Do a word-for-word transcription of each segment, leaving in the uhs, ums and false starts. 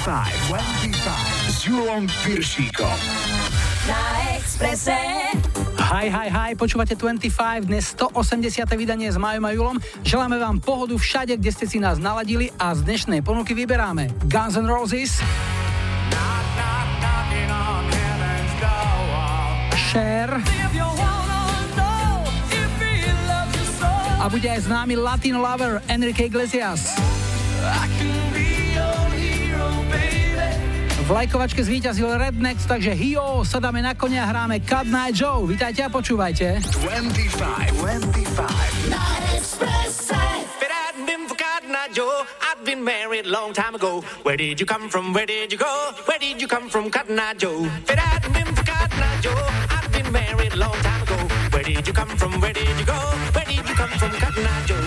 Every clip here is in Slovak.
dvadsaťpäť, dvadsaťpäť s Julom Piršíkom. Na Expresse. Hi, hi, hi, počúvate dvadsaťpäť, dnes stoosemdesiate vydanie s Majom a Julom. Želáme vám pohodu všade, kde ste si nás naladili a z dnešnej ponuky vyberáme Guns N' Roses, Cher a bude aj známy Latino lover Enrique Iglesias. V lajkovačke zvíťazil Rednex, takže hijo, sadáme na konia a hráme Cut Night Joe. Vítajte a počúvajte. dvadsaťpäť, dvadsaťpäť Na Expresse. Joe, I've been married long time ago. Where did you come from? Where did you go? Where did you come from, Cotton Eye Joe? If it hadn't been for Cotton Eye Joe, I've been married long time ago. Where did you come from? Where did you go? Where did you come from, Cotton Eye Joe?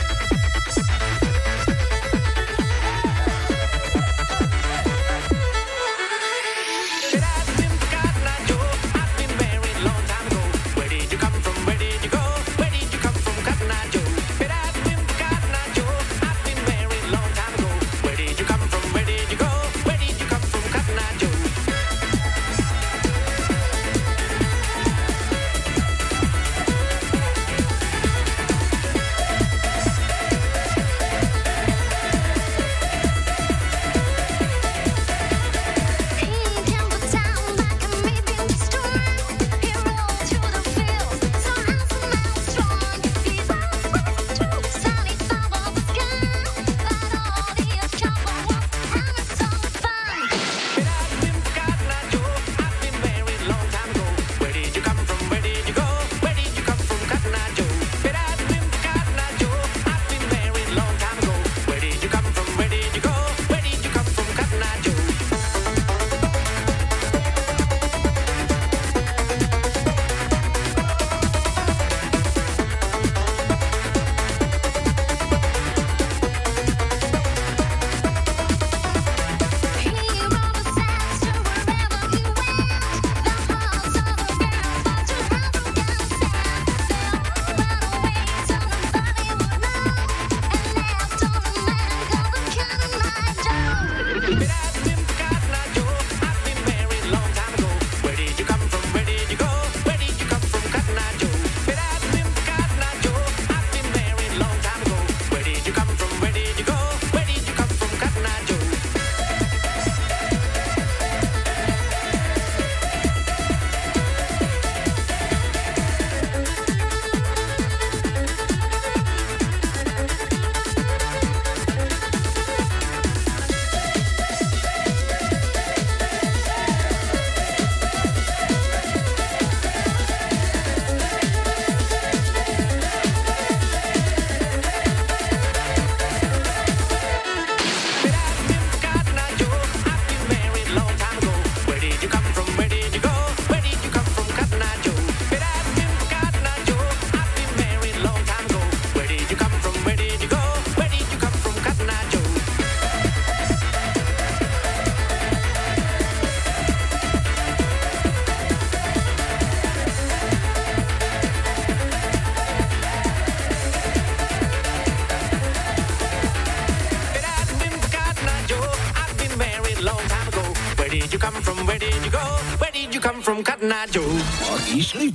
Išli?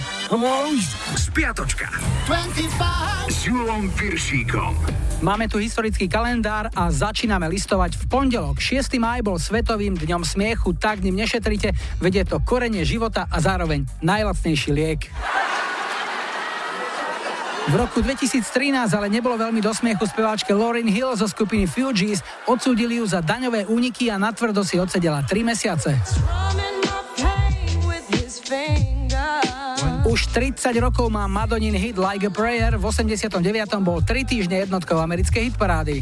Spiatočka s Julom Piršíkom. Máme tu historický kalendár a začíname listovať v pondelok. šiesteho mája bol svetovým dňom smiechu, tak ním nešetrite, veď je to korene života a zároveň najlacnejší liek. V roku dvetisíctrinásť ale nebolo veľmi do smiechu speváčke Lauryn Hill zo skupiny Fugees, odsúdili ju za daňové úniky a natvrdo si odsedela tri mesiace. Už tridsať rokov má Madonin hit Like a Prayer, v osemdesiatom deviatom bol tri týždne jednotkou americkej hitparády.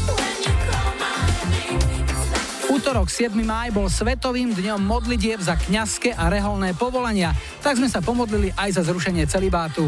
Útorok siedmeho mája bol svetovým dňom modlitieb za kňazské a reholné povolania, tak sme sa pomodlili aj za zrušenie celibátu.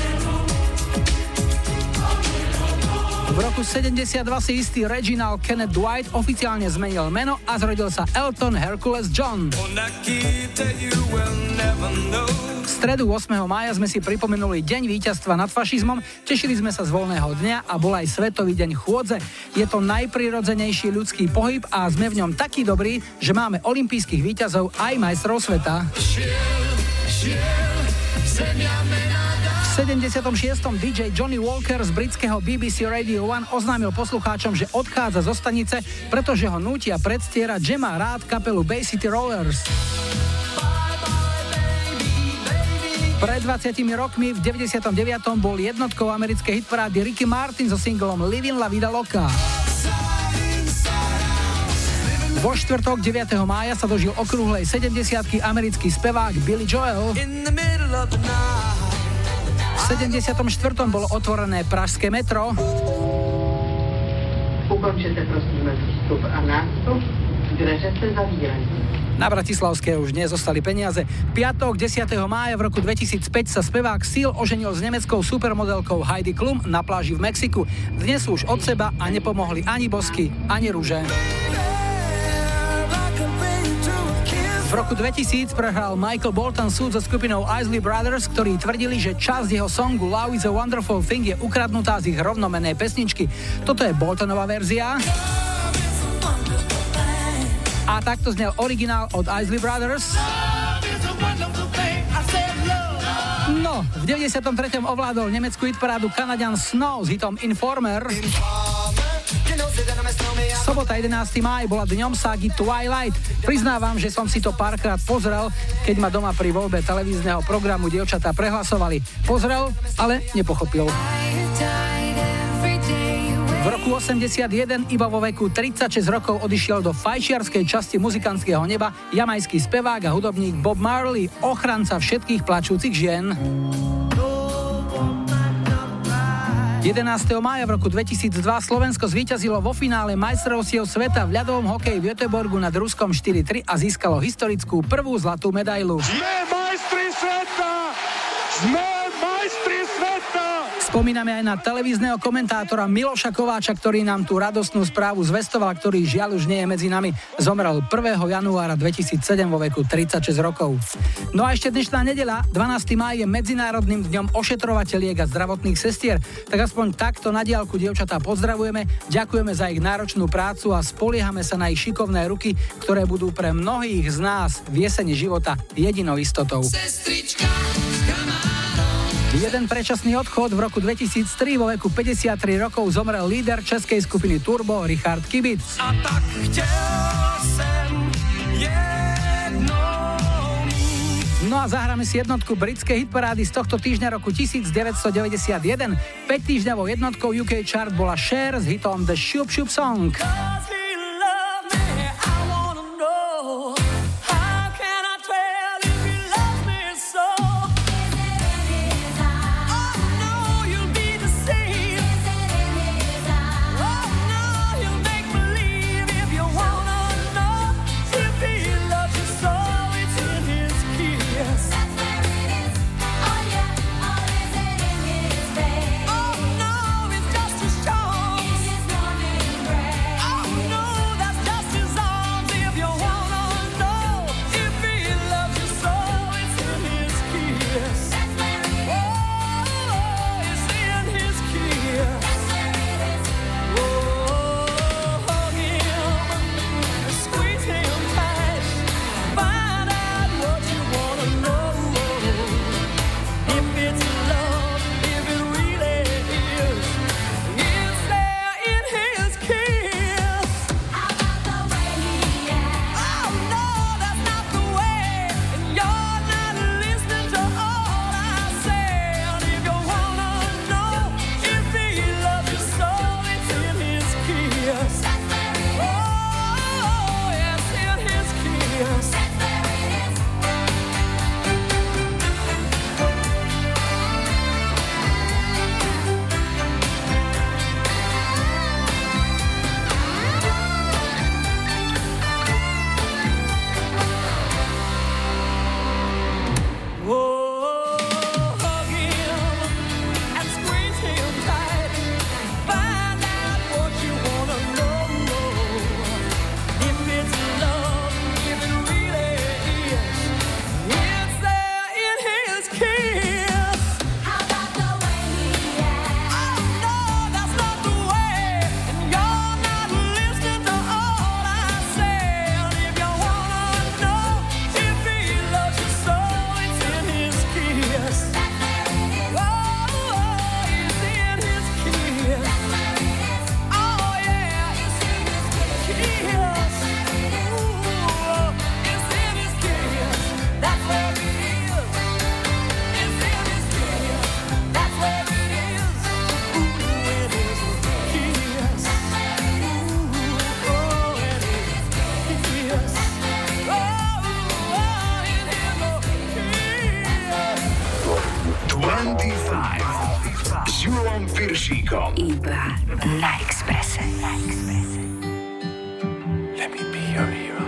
V roku sedemdesiatdva si istý Reginald Kenneth Dwight oficiálne zmenil meno a zrodil sa Elton Hercules John. stredu ôsmeho mája sme si pripomenuli Deň víťazstva nad fašizmom, tešili sme sa z voľného dňa a bol aj Svetový deň chôdze. Je to najprirodzenejší ľudský pohyb a sme v ňom takí dobrí, že máme olympijských víťazov aj majstrov sveta. V sedemdesiatom šiestom dý džej Johnny Walker z britského bé bé cé Radio jeden oznámil poslucháčom, že odchádza zo stanice, pretože ho nútia predstierať, že má rád kapelu Bay City Rollers. Pred dvadsiatimi rokmi v deväťdesiatom deviatom bol jednotkou americkej hitparády Ricky Martin so singlom Livin La Vida Loca. Vo štvrtok deviateho mája sa dožil okrúhlej sedemdesiatky americký spevák Billy Joel. V sedemdesiatom štvrtom bolo otvorené pražské metro. Ukončite prosím vstup a nástup, dveře se zavírají. Na Bratislavské už nezostali peniaze. Piatok desiateho mája v roku dvetisícpäť sa spevák Seal oženil s nemeckou supermodelkou Heidi Klum na pláži v Mexiku. Dnes sú už od seba a nepomohli ani bosky, ani rúže. V roku dvetisíc prehral Michael Bolton súd so skupinou Isley Brothers, ktorí tvrdili, že časť jeho songu Love is a Wonderful Thing je ukradnutá z ich rovnomennej pesničky. Toto je Boltonová verzia. A takto znel originál od Isley Brothers. No, v deväťdesiatom treťom ovládol nemeckú hitparádu Kanaďan Snow s hitom Informer. Sobota jedenásteho mája bola dňom ságy Twilight. Priznávam, že som si to párkrát pozrel, keď ma doma pri voľbe televízneho programu dievčatá prehlasovali. Pozrel, ale nepochopil. V roku osemdesiatjeden iba vo veku tridsaťšesť rokov odišiel do fajčiarskej časti muzikantského neba jamajský spevák a hudobník Bob Marley, ochranca všetkých plačúcich žien. jedenásteho mája v roku dvetisícdva Slovensko zvíťazilo vo finále majstrovstiev sveta v ľadovom hokeji v Göteborgu nad Ruskom štyri tri a získalo historickú prvú zlatú medailu. Sme majstri sveta! Sme majstri sveta! Spomíname aj na televízneho komentátora Miloša Kováča, ktorý nám tú radostnú správu zvestoval, ktorý žiaľ už nie je medzi nami. Zomrel prvého januára dvetisícsedem vo veku tridsaťšesť rokov. No a ešte dnešná nedeľa, dvanásteho mája je Medzinárodným dňom ošetrovateľiek a zdravotných sestier. Tak aspoň takto na diaľku dievčatá pozdravujeme, ďakujeme za ich náročnú prácu a spoliehame sa na ich šikovné ruky, ktoré budú pre mnohých z nás v jeseni života jedinou istotou. Sestrička. Jeden predčasný odchod v roku dvetisíctri, vo veku päťdesiattri rokov zomrel líder českej skupiny Turbo Richard Kibic. A tak chtěl jsem jednou mít. No a zahráme si jednotku britskej hitparády z tohto týždňa roku devätnásťstodeväťdesiatjeden. päť týždňovou jednotkou ú ká chart bola Cher s hitom The Shoop Shoop Song. Oh s Júlom Piršíkom. Iba na Expresse. Let me be your hero.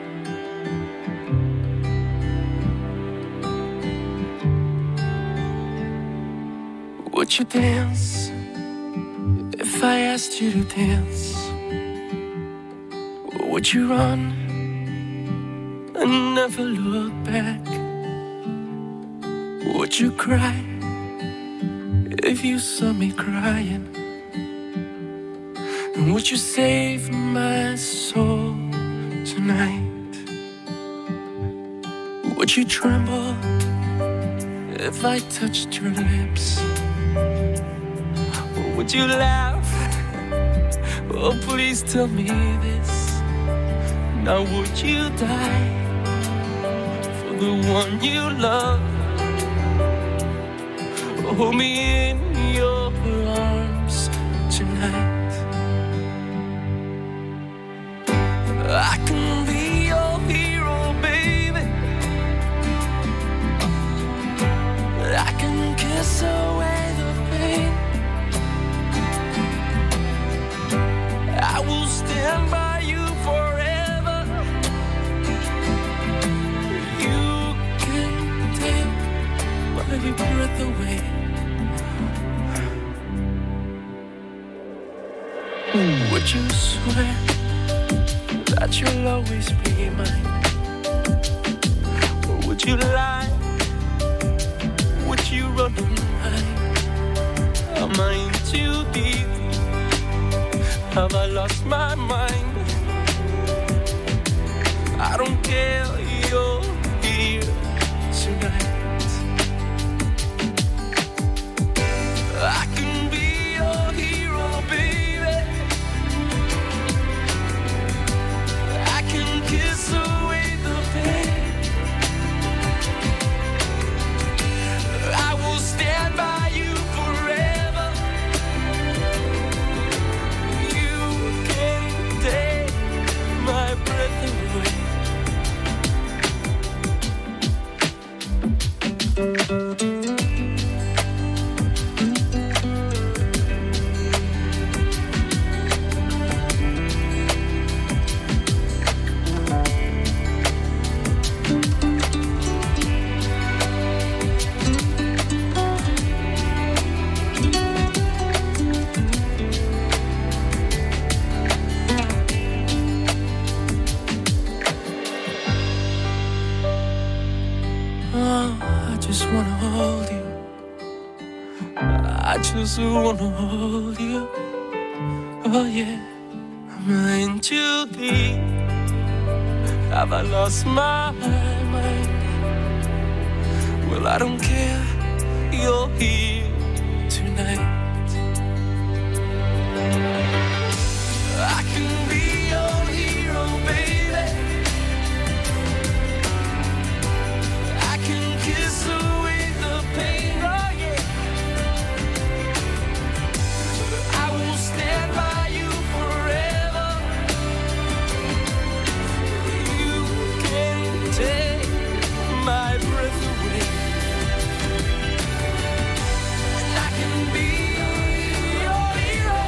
Would you dance if I asked you to dance? Would you run and never look back? Would you cry if you saw me crying? And would you save my soul tonight? Would you tremble if I touched your lips? Or would you laugh? Oh, please tell me this. Now would you die for the one you love? Hold me in your arms tonight. I can be your hero, baby. I can kiss away the pain. I will stand by you forever. You can take my breath away. Would you swear that you'll always be mine? Or would you lie? Would you run and hide? Am I in too deep? Have I lost my mind? I don't care, you're here tonight. I can be your hero, baby. I can kiss away the pain. I will stand by you forever. You can take my breath away. I just wanna hold you. Oh yeah, am I in too deep? Have I lost my mind? Well, I don't care, you're here tonight. I can be your hero, baby. I can kiss away the pain. Oh yeah, I will stand by you forever. You can take my breath away. And I can be your hero.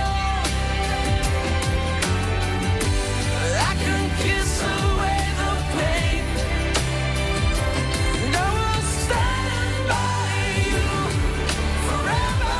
I can kiss away the pain. And I will stand by you forever.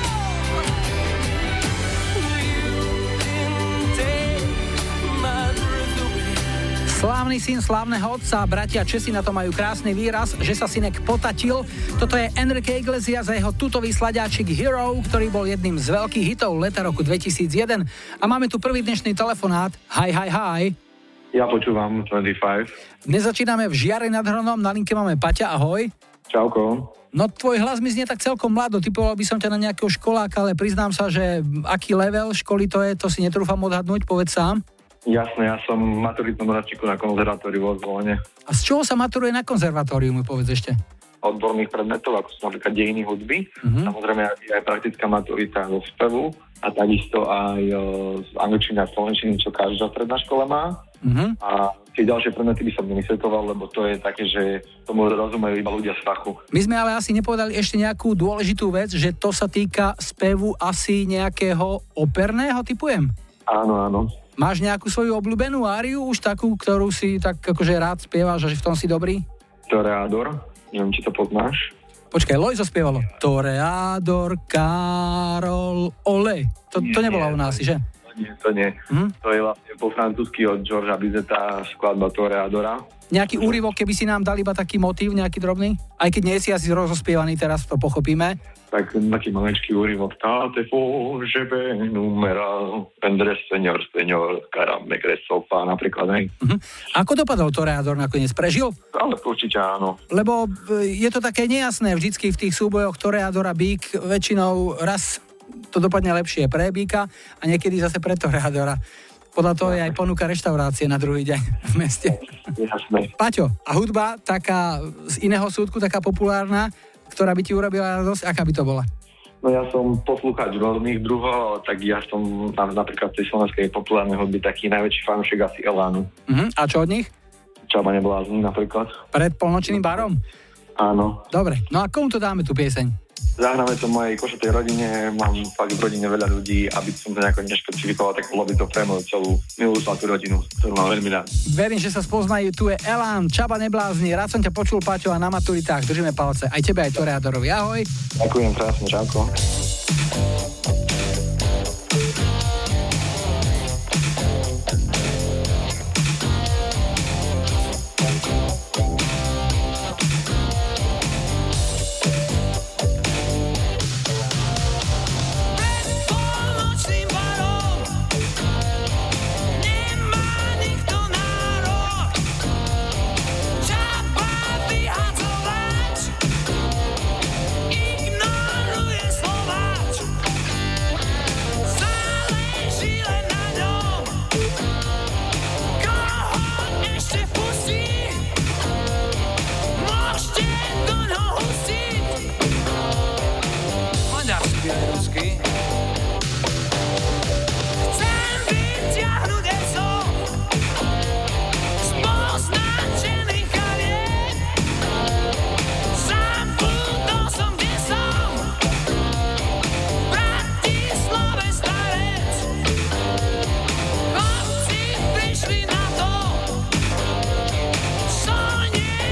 You can take my breath away. Slávny syn slávneho otca, bratia Česi na to majú krásny výraz, že sa synek potatil. Toto je Enrique Iglesias a jeho tutový sladáčik Hero, ktorý bol jedným z veľkých hitov leta roku dvetisícjeden. A máme tu prvý dnešný telefonát. Hi, hi, hi. Ja počúvam dvadsaťpäť. Dnes začíname v Žiari nad Hronom, na linke máme Paťa, ahoj. Čauko. No tvoj hlas mi znie tak celkom mlado, typoval by som ťa na nejakého školáka, ale priznám sa, že aký level školy to je, to si netrúfam odhadnúť, povedz sám. Jasné, ja som maturitnom ročníku na konzervatóriu vo Zvolene. A z čoho sa maturuje na konzervatóriu, mi povedz ešte? Odborných predmetov, ako sú napríklad dejiny hudby. Mhm. Samozrejme je aj praktická maturita zo spevu a takisto aj o, z angličtiny a slovenčiny, čo každá stredná škola má. Mhm. A Tie ďalšie predmety by som nevysvetoval, lebo to je také, že tomu rozumejú iba ľudia z fachu. My sme ale asi nepovedali ešte nejakú dôležitú vec, že to sa týka spevu asi nejakého operného, typujem? Áno, áno. Máš nejakú svoju obľúbenú áriu, už takú, ktorú si tak akože rád spievaš a že v tom si dobrý? Toreador, neviem, či to poznáš. Počkaj, Lojzo spievalo. Toreador, Karol, Ole. To, Nie, to nebola nie, u nás, to že? Nie, to nie. Hm? To je vlastne po francúzsky od Georgea Bizeta skladba Toreadora. Nejaký úryvok, keby si nám dali iba taký motív, nejaký drobný? Aj keď nie si asi rozospievaný, teraz to pochopíme. Tak taký maličký úryvok. Tate fo, že be numera, pendre senior, senior, karame kresofa, napríklad, hej. Uh-huh. Ako dopadol Toreador nakoniec? Prežil? Ale určite áno. Lebo je to také nejasné vždycky v tých súbojoch Toreador a Bík. Väčšinou raz to dopadne lepšie pre Bíka a niekedy zase pre Toreadora. Podľa toho je aj ponuka reštaurácie na druhý deň v meste. Jasné. Paťo, a hudba taká z iného súdku, taká populárna, ktorá by ti urobila radosť, aká by to bola? No ja som poslúchač rôznych druhov, tak ja som napríklad tej slovenskej populárnej hudby taký najväčší fanúšik asi Elánu. Uh-huh. A čo od nich? Čaba neblázni napríklad. Pred polnočným barom? Áno. Dobre, no a komu to dáme tú pieseň? Zahráme to mojej košatej rodine, mám fakt v rodine veľa ľudí, aby som to nejako nešpecifikoval, tak bolo by to pre moju celú milú zlatú rodinu, ktorú mám veľmi rád. Verím, že sa spoznajú, tu je Elán, Čaba neblázni, rád som ťa počul, Paťo, a na maturitách držíme palce, aj tebe, aj Toreadorovi, ahoj. Ďakujem krásne, čauko.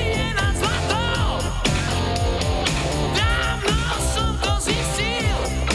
Dávno som to zistil.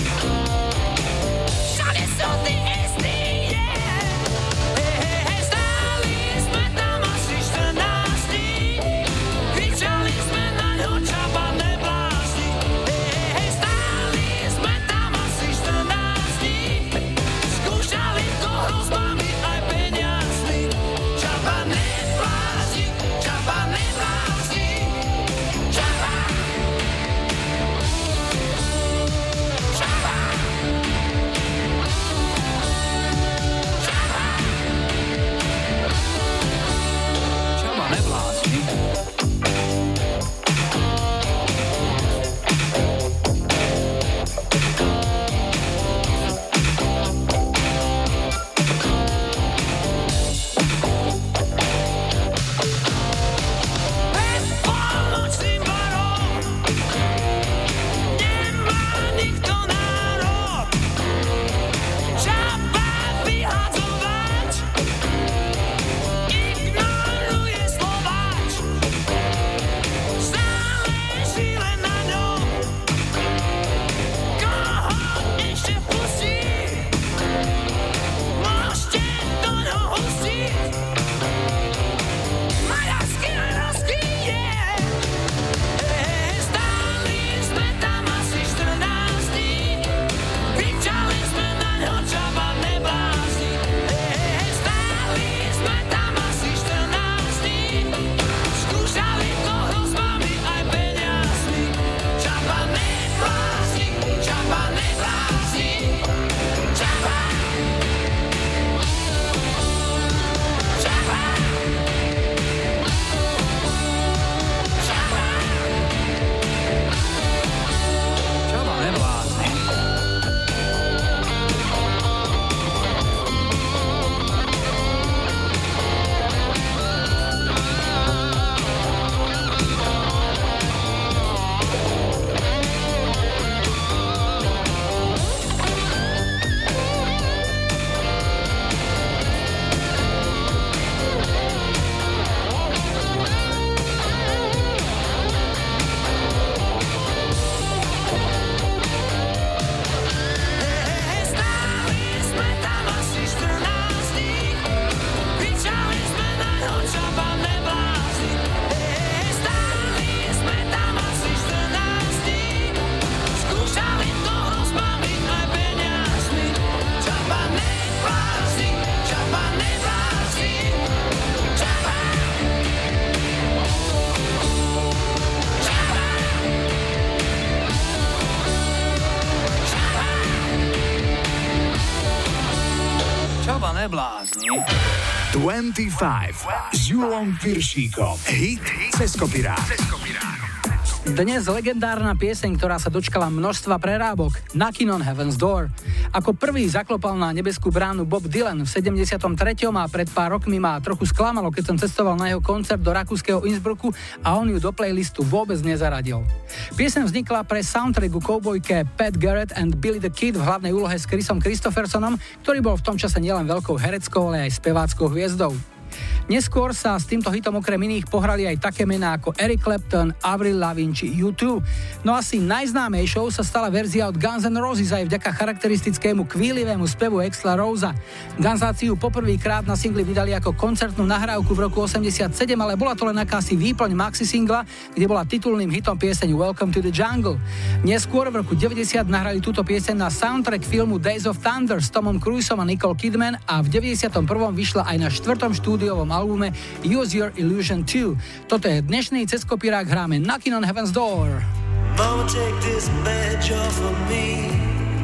Plné blázni. dvadsaťpäť s Julom Piršíkom. Hit cez kopirák. Dnes legendárna pieseň, ktorá sa dočkala množstva prerábok, Knocking on Heaven's Door. Ako prvý zaklopal na nebeskú bránu Bob Dylan v sedemdesiatom treťom a pred pár rokmi ma trochu sklamalo, keď som cestoval na jeho koncert do rakúskeho Innsbrucku a on ju do playlistu vôbec nezaradil. Pieseň vznikla pre soundtrack ku koubojke Pat Garrett and Billy the Kid v hlavnej úlohe s Chrisom Christophersonom, ktorý bol v tom čase nielen veľkou hereckou, ale aj speváckou hviezdou. Neskôr sa s týmto hitom okrem iných pohrali aj také mená ako Eric Clapton, Avril Lavigne či U dva. No asi najznámejšou sa stala verzia od Guns N' Roses aj vďaka charakteristickému kvílivému spevu Axla Rosea. Gunsáci ju poprvýkrát na singli vydali ako koncertnú nahrávku v roku osemdesiatsedem, ale bola to len akási výplň maxi singla, kde bola titulným hitom pieseň Welcome to the Jungle. Neskôr v roku deväťdesiat nahrali túto pieseň na soundtrack filmu Days of Thunder s Tomom Cruisom a Nicole Kidman a v deväťdesiatom prvom vyšla aj na štvrtom štúdiovom albume Use Your Illusion two. Toto je dnešný cez kopírák, hráme Knocking on Heaven's Door. Mama, take this badge off of me.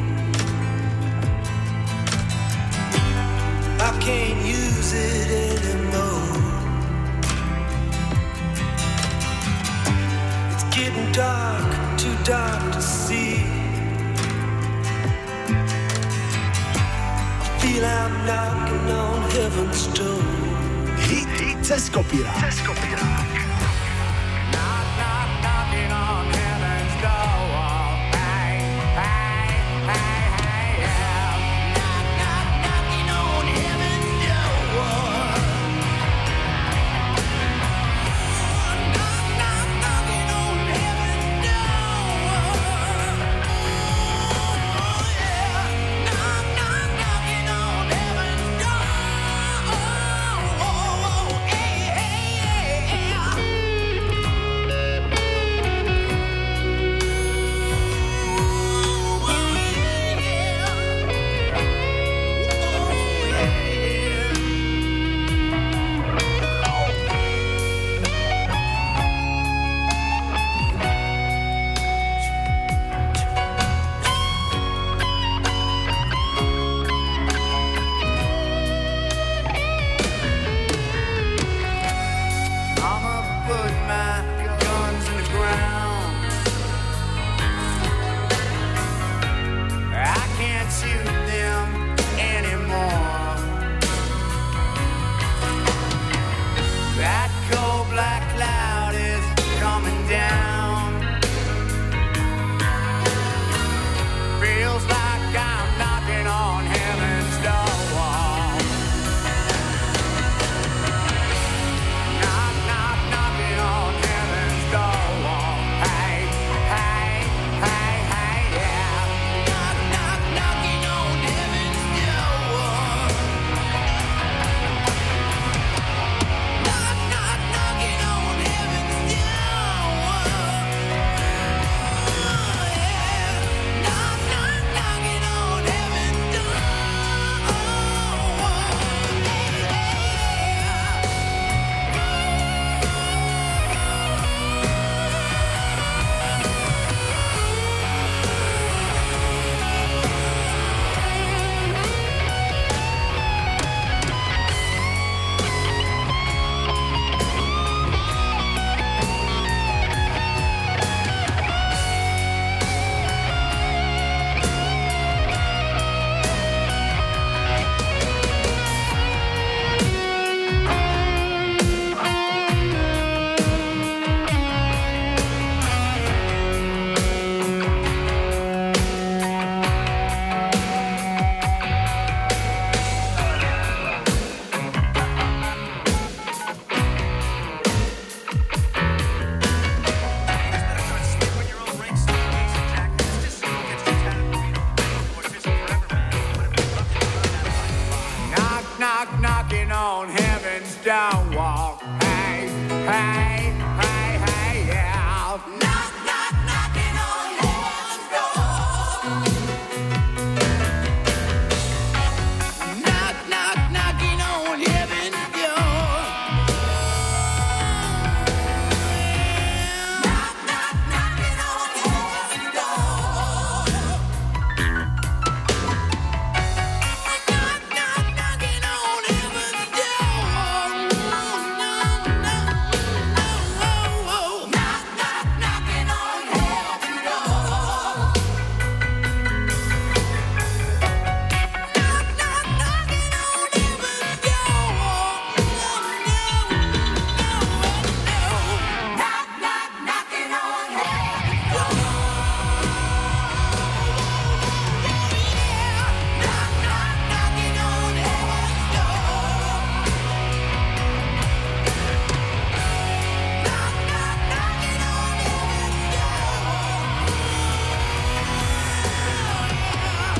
I can't use it anymore. It's getting dark, too dark to see. I feel I'm knocking on heaven's door. Hit, hit cez kopírák. Cez kopírák. Knock, knock, knocking on heaven's door. Hey, hey, hey, hey, yeah. Knock, knock, knocking on heaven's door. Knock, knock, knocking on heaven's door. Oh, yeah. Knock, knock, knocking on heaven's door. Oh, oh, oh, hey, hey, hey, yeah.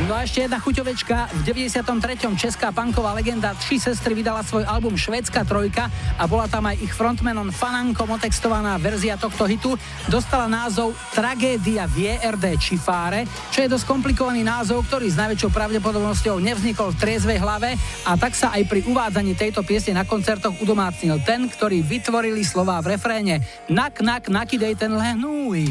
No a ešte jedna chuťovečka. V deväťdesiatom treťom česká punková legenda Tři sestry vydala svoj album Švédska trojka a bola tam aj ich frontmanom Fanankom otextovaná verzia tohto hitu. Dostala názov Tragédia v é er dé Čifáre, čo je dosť komplikovaný názov, ktorý s najväčšou pravdepodobnosťou nevznikol v triezvej hlave, a tak sa aj pri uvádzaní tejto piesne na koncertoch udomácnil ten, ktorý vytvorili slová v refréne. Nak, nak, nakidej ten lehnúj.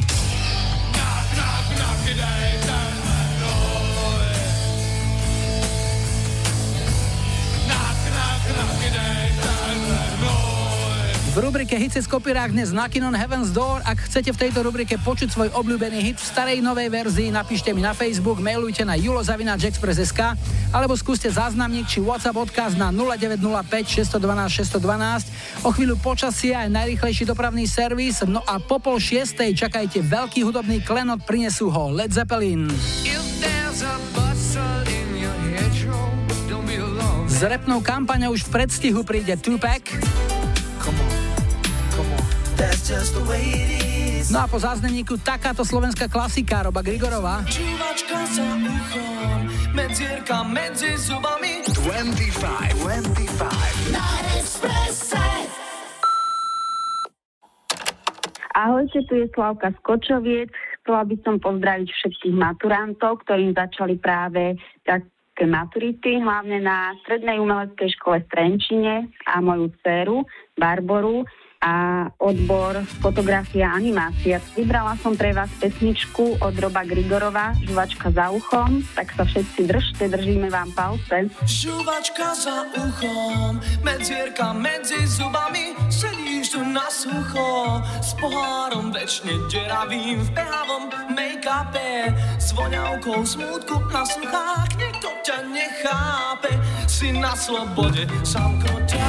V rubrike Hit cez kopírák dnes Knockin' on Heaven's Door. Ak chcete v tejto rubrike počuť svoj obľúbený hit v starej novej verzii, napíšte mi na Facebook, mailujte na julo zavináč express bodka es ká alebo skúste záznamník či WhatsApp odkaz na nula deväť nula päť šesť jedna dva šesť jedna dva. O chvíľu počasie aj najrýchlejší dopravný servis. No a po pol šiestej čakajte veľký hudobný klenot, prinesú ho Led Zeppelin. S repnou kampaňou už v predstihu príde Tupac. No a po záznamníku takáto slovenská klasika Roba Grigorova. Čúvačka za uchom, medzierka medzi zubami. dvadsaťpäť, dvadsaťpäť Na Expresse. Ahojte, tu je Slavka z Kočoviec. Chcela by som pozdraviť všetkých maturantov, ktorým začali práve také maturity, hlavne na Strednej umeleckej škole v Trenčine a moju dceru Barboru a odbor fotografia a animácia. Vybrala som pre vás pesničku od Roba Grigorova, Žuvačka za uchom, tak sa všetci držte, držíme vám palce. Žuvačka za uchom, medzierka medzi zubami, sedíš tu na sucho, s pohárom večne deravým v behavom make-upe, s voňavkou smútku na sluchách, nikto ťa nechápe, si na slobode zamknutá.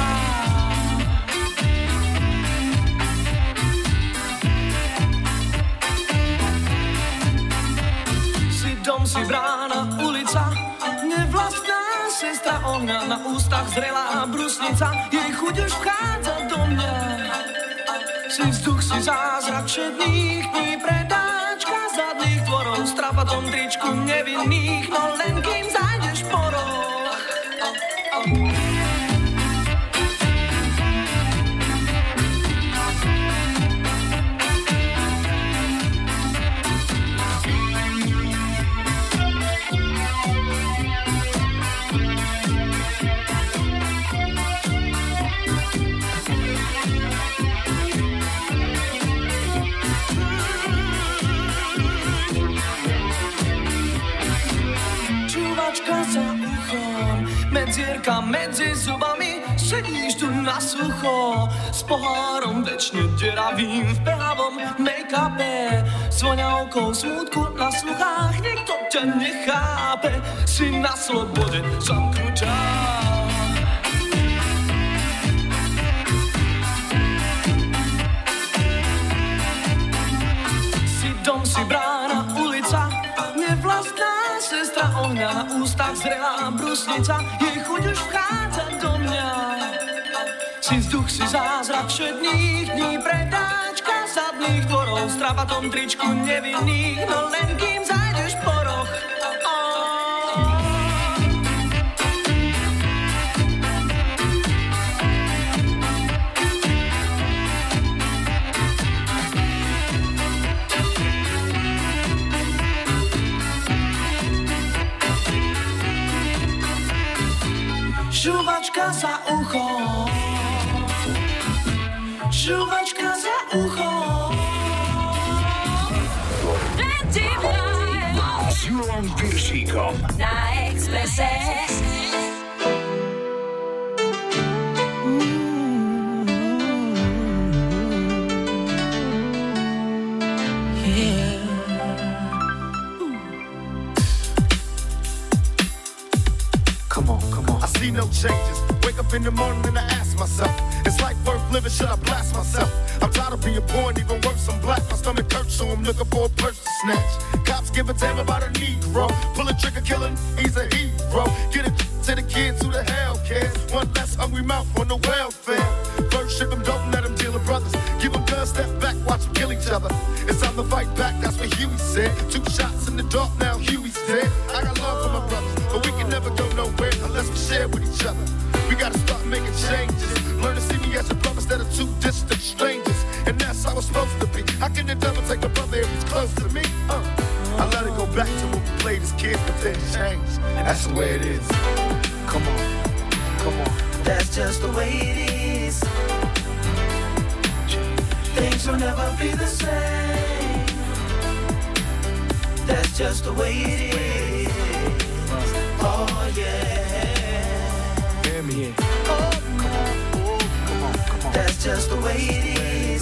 Dom si brána, ulica, nevlastná sestra ohňa, na ústach zrelá brusnica, jej chuť už vchádza do mňa. Si vzduch, si zázrak všetných dní, predáčka zadných dvorov, s trapatom tričku nevinných, no len kým zájdeš po roh. Za uchom, medzierka medzi zubami, sedíš tu na sucho, s pohárom večne deravým v behavom make-upe, s voňavkou smútku na sluchách, nikto ťa nechápe, si na slobode zamknutá. Si dom, si brána, ulica, nevlastná sestra ohňa, na ústach zrelá brusnica, jej chuť už vchádza do mňa. Si vzduch, si zázrak všetných dní, predáčka zadných dvorov, s trapatom tričku nevinných, no len kým zájdeš po roh. Žuvačka za uchom, žuvačka za uchom. S Julom Piršíkom Na Expresse. No changes. Wake up in the morning and I ask myself, is life worth living? Should I blast myself? I'm tired of being poor and even worse, I'm black. My stomach hurts, so I'm looking for a purse to snatch. Cops give a damn about a Negro. Pull a trigger, killing, he's a hero. Get it to the kids who the hell cares. One less hungry mouth on the welfare. First ship them, don't let them deal with brothers. Give them guns, step back, watch them kill each other. It's time to fight back, that's what Huey said. Two shots in the dark, now Huey's dead. I got love for my brothers, but we can never go nowhere unless we share with each other. We gotta start making changes. Learn to see me as a brother instead of two distant strangers. And that's how it's supposed to be. How can the devil take a brother if he's close to me? Uh, I let it go back to when we played as kids, but then changed. That's the way it is. Come on, come on. That's just the way it is. Things will never be the same. That's just the way it is. Oh yeah. Hear me. Oh, come on, oh, come on, come on. That's just the way it is.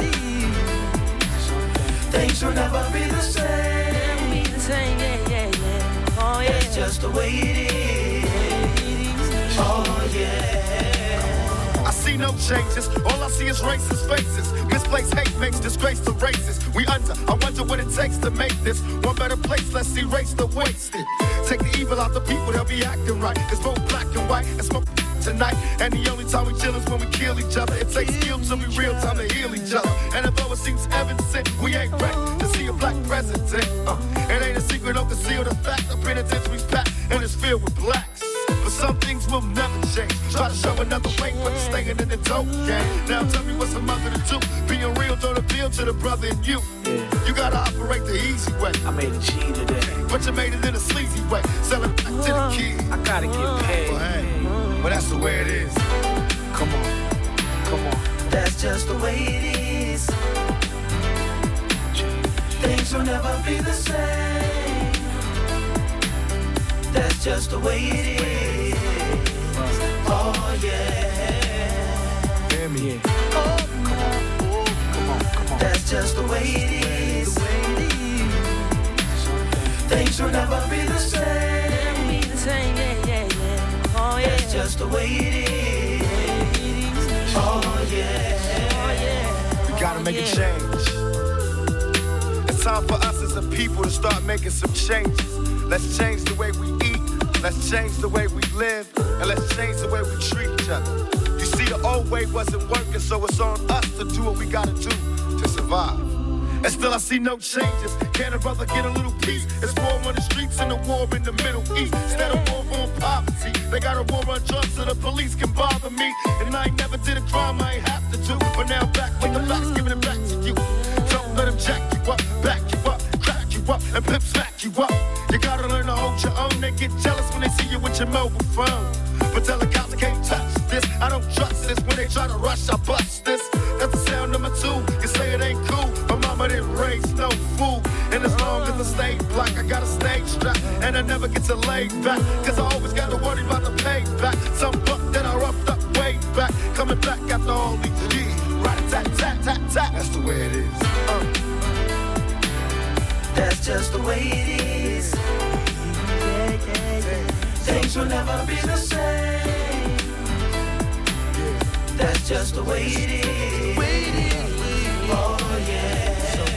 Things will never be the same. Be the same, yeah, yeah, yeah. Oh yeah. That's just the way it is. Oh yeah. I see no changes. All I see is racist faces. Misplaced hate makes disgrace to races. We under. I wonder what it takes to make this one better place. Let's erase the wasted. Take the evil out the people. They'll be acting right. It's both black and white. And smoke tonight. And the only time we chill is when we kill each other. It takes skill to be real time to heal each other. And although it seems evident, we ain't ready to see a black president. Uh, it ain't a secret, don't conceal the fact. The penitentiary's packed and it's filled with blacks. But some things will never change. Try to show another way, but it's staying in the dope game. Now tell me what's a mother to do. Being real don't appeal to the brother in you. Yeah. You gotta operate the easy way. I made a G today, but you made it in a sleazy way. Sell it back to the kids. I gotta get paid. Well, hey, well, that's the way it is. Come on, come on. That's just the way it is. Things will never be the same. That's just the way it is. Oh yeah. Hear me. Oh, come on, oh, come on, come on. That's just the way it is. Things will never be the same. Be the same, yeah, yeah, yeah. Oh yeah. That's just the way it is. Oh yeah. Oh yeah. We gotta make yeah. a change. It's time for us as a people to start making some changes. Let's change the way we eat. Let's change the way we live. And let's change the way we treat each other. You see, the old way wasn't working, so it's on us to do what we gotta do to survive. And still I see no changes. Can a brother get a little peace? It's war on the streets and a war in the Middle East. Instead of war on poverty, they got a war on drugs so the police can bother me. And I ain't never did a crime I ain't have to do. But now back with the facts, giving it back to you. Don't let them jack you up, back you up, crack you up, and pimp smack you up. You gotta learn to hold your own. They get jealous when they see you with your mobile phone. But tell the cops I can't touch this. I don't trust this. When they try to rush, I bust this. That's the sound number two. You say it ain't cool. My mama didn't raise no fool. And as long as I stay black, I got a stage strap. And I never get to lay back. Cause I always got to worry about the payback. Some buck that I roughed up way back. Coming back after all these years. Right-a-tat-tat-tat-tat. That's the way it is. Uh. That's just the way it is. Yeah, yeah, yeah. Things will never be the same. That's just the way it is. Oh yeah.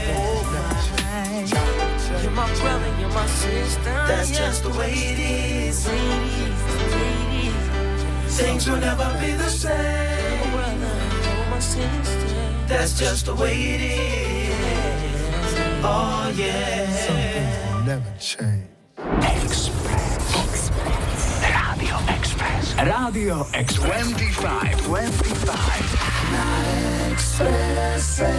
You're my brother, you're my sister. That's just the way it is. Things will never be the same. That's just the way it is. Oh yeah. Some things will never change. Express. Express. Radio Express. Radio Express. twenty-five. twenty-five. Na Expresse.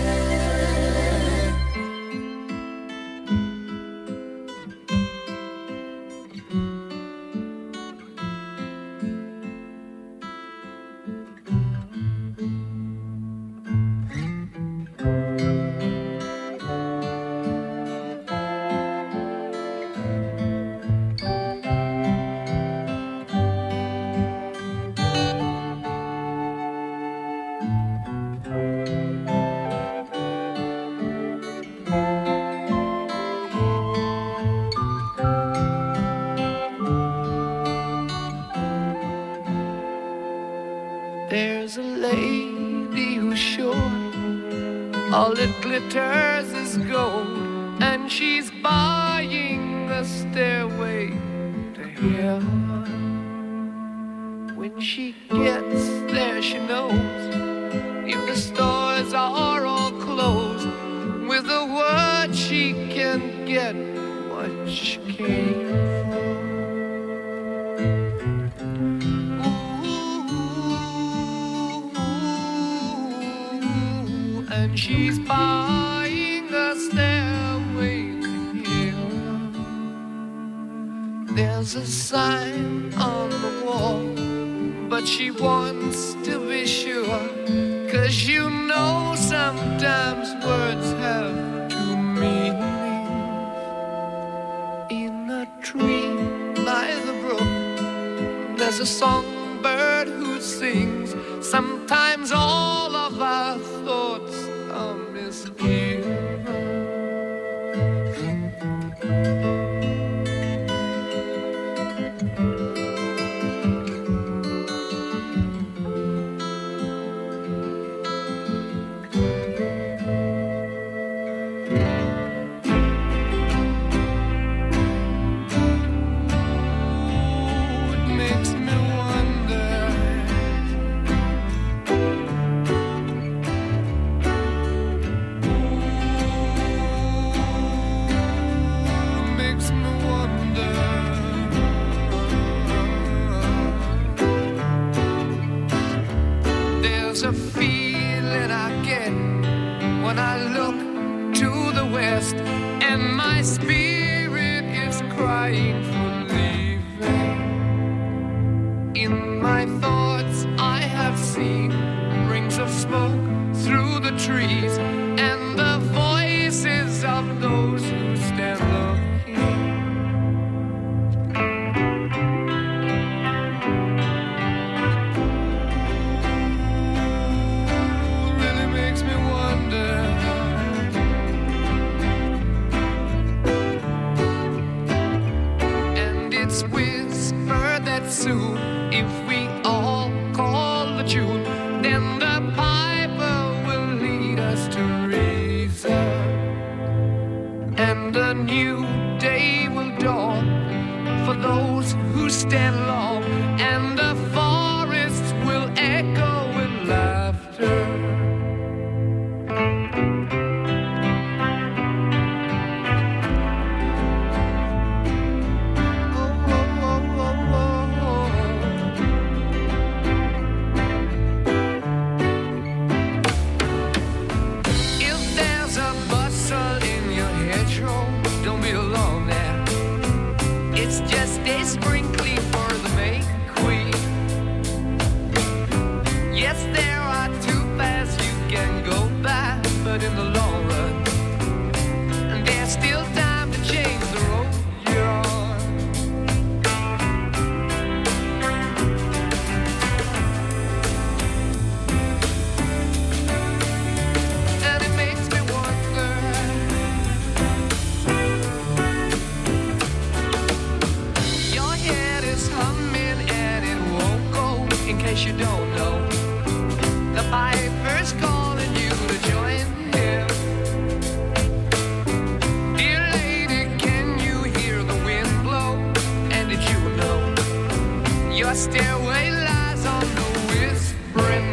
There's a lady who's sure all that glitters is gold, and she's buying the stairway to heaven. When she gets there, she knows if the stores are all closed, with a word she can get what she came from. Ooh, and she's buying a stairway to heaven. There's a sign on the wall, but she wants to be sure, 'cause you know sometimes words have two meanings. In a tree by the brook, there's a songbird who sings. Sometimes all of our thoughts are misgiven. There's a feeling I get when I look to the west, and my spirit is crying for leaving. In my thoughts I have seen rings of smoke through the trees, and the voices of those who stand looking. Soon, if we all call the tune, then the piper will lead us to reason, and a new day will dawn for those who stand long, and the forests will echo with laughter. You don't know, the piper's calling you to join him. Dear lady, can you hear the wind blow? And did you know your stairway lies on the whispering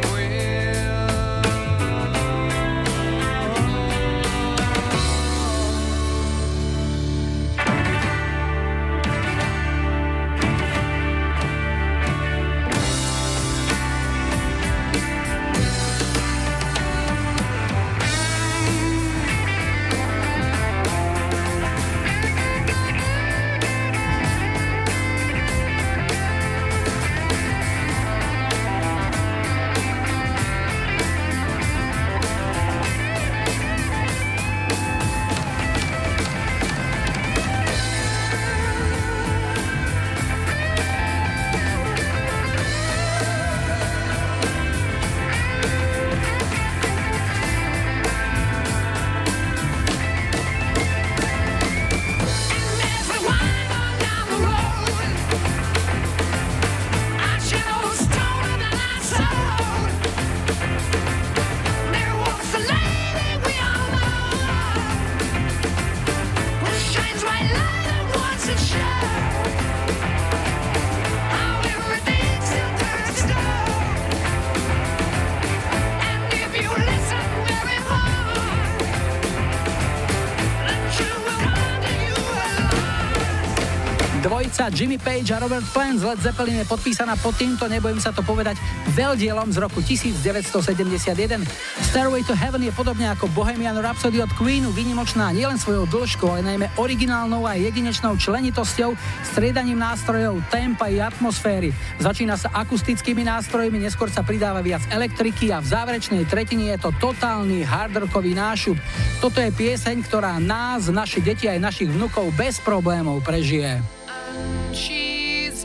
Dvojica Jimmy Page a Robert Plant z Led Zeppelin je podpísaná pod týmto, nebojím sa to povedať, veľdielom z roku devätnásťsedemdesiatjeden. Stairway to Heaven je podobne ako Bohemian Rhapsody od Queenu výnimočná nielen svojou dĺžkou, ale najmä originálnou a jedinečnou členitosťou, striedaním nástrojov, tempa i atmosféry. Začína sa akustickými nástrojmi, neskôr sa pridáva viac elektriky a v záverečnej tretine je to totálny hardrockový nášup. Toto je pieseň, ktorá nás, naše deti aj našich vnukov bez problémov prežije. She's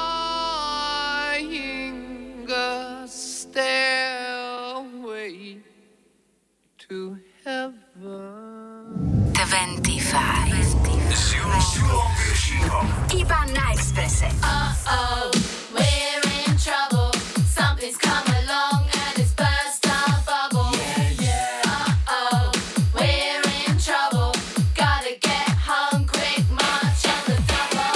buying a stairway to heaven. dvadsaťpäť S Julom Piršíkom. Iba na Expresse. Uh-oh, we're in trouble. Something's come along and it's burst our bubble. Yeah, yeah. Uh-oh, we're in trouble. Gotta get home quick, march on the double.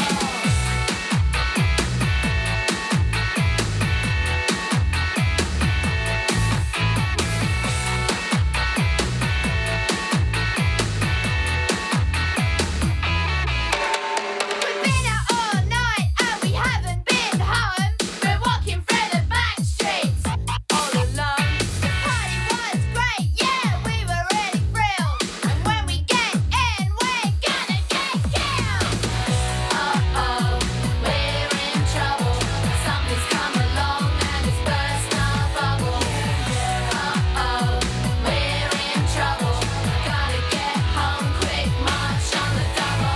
We've been out all night and we haven't been home. We're walking through the back streets all alone. The party was great, yeah, we were really thrilled. And when we get in, we're gonna get killed. Uh-oh, we're in trouble. Something's come along and it's burst our bubble. Uh-oh, we're in trouble. Gotta get home quick, march on the double.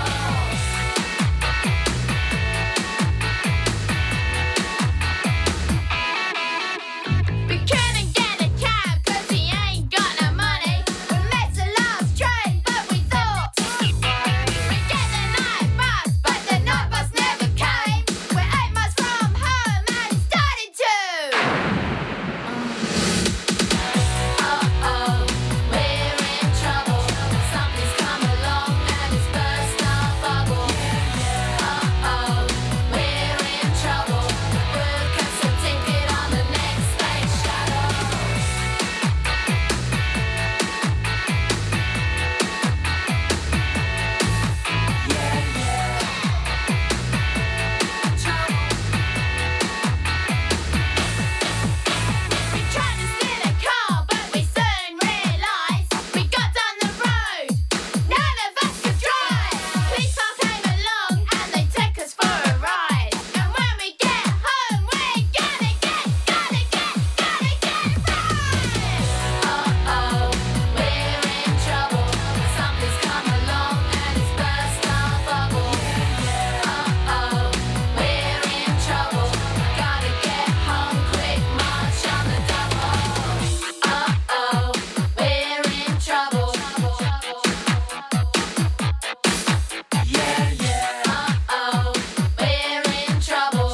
We couldn't get a cab 'cause we ain't got no money. We missed the last train, but we thought we'd get the night bus, but the night bus never came. We're eight miles from home and it started to. Uh-oh, we're in trouble. Something's come along and it's burst our bubble. Uh-oh, we're in trouble. Book us a ticket on the next space shuttle. We tried to steal a car, but we soon realised we got down the road. None of us could drive. Police car came along and they took us for a ride. And when we get home, we're gonna get, gonna get, gonna get right. Uh-oh, we're in trouble. Something's come along and it's burst our bubble. Uh-oh, we're in trouble. Gotta get home quick, march on the double. Uh-oh, we're in trouble. Yeah, yeah. Uh-oh, we're in trouble.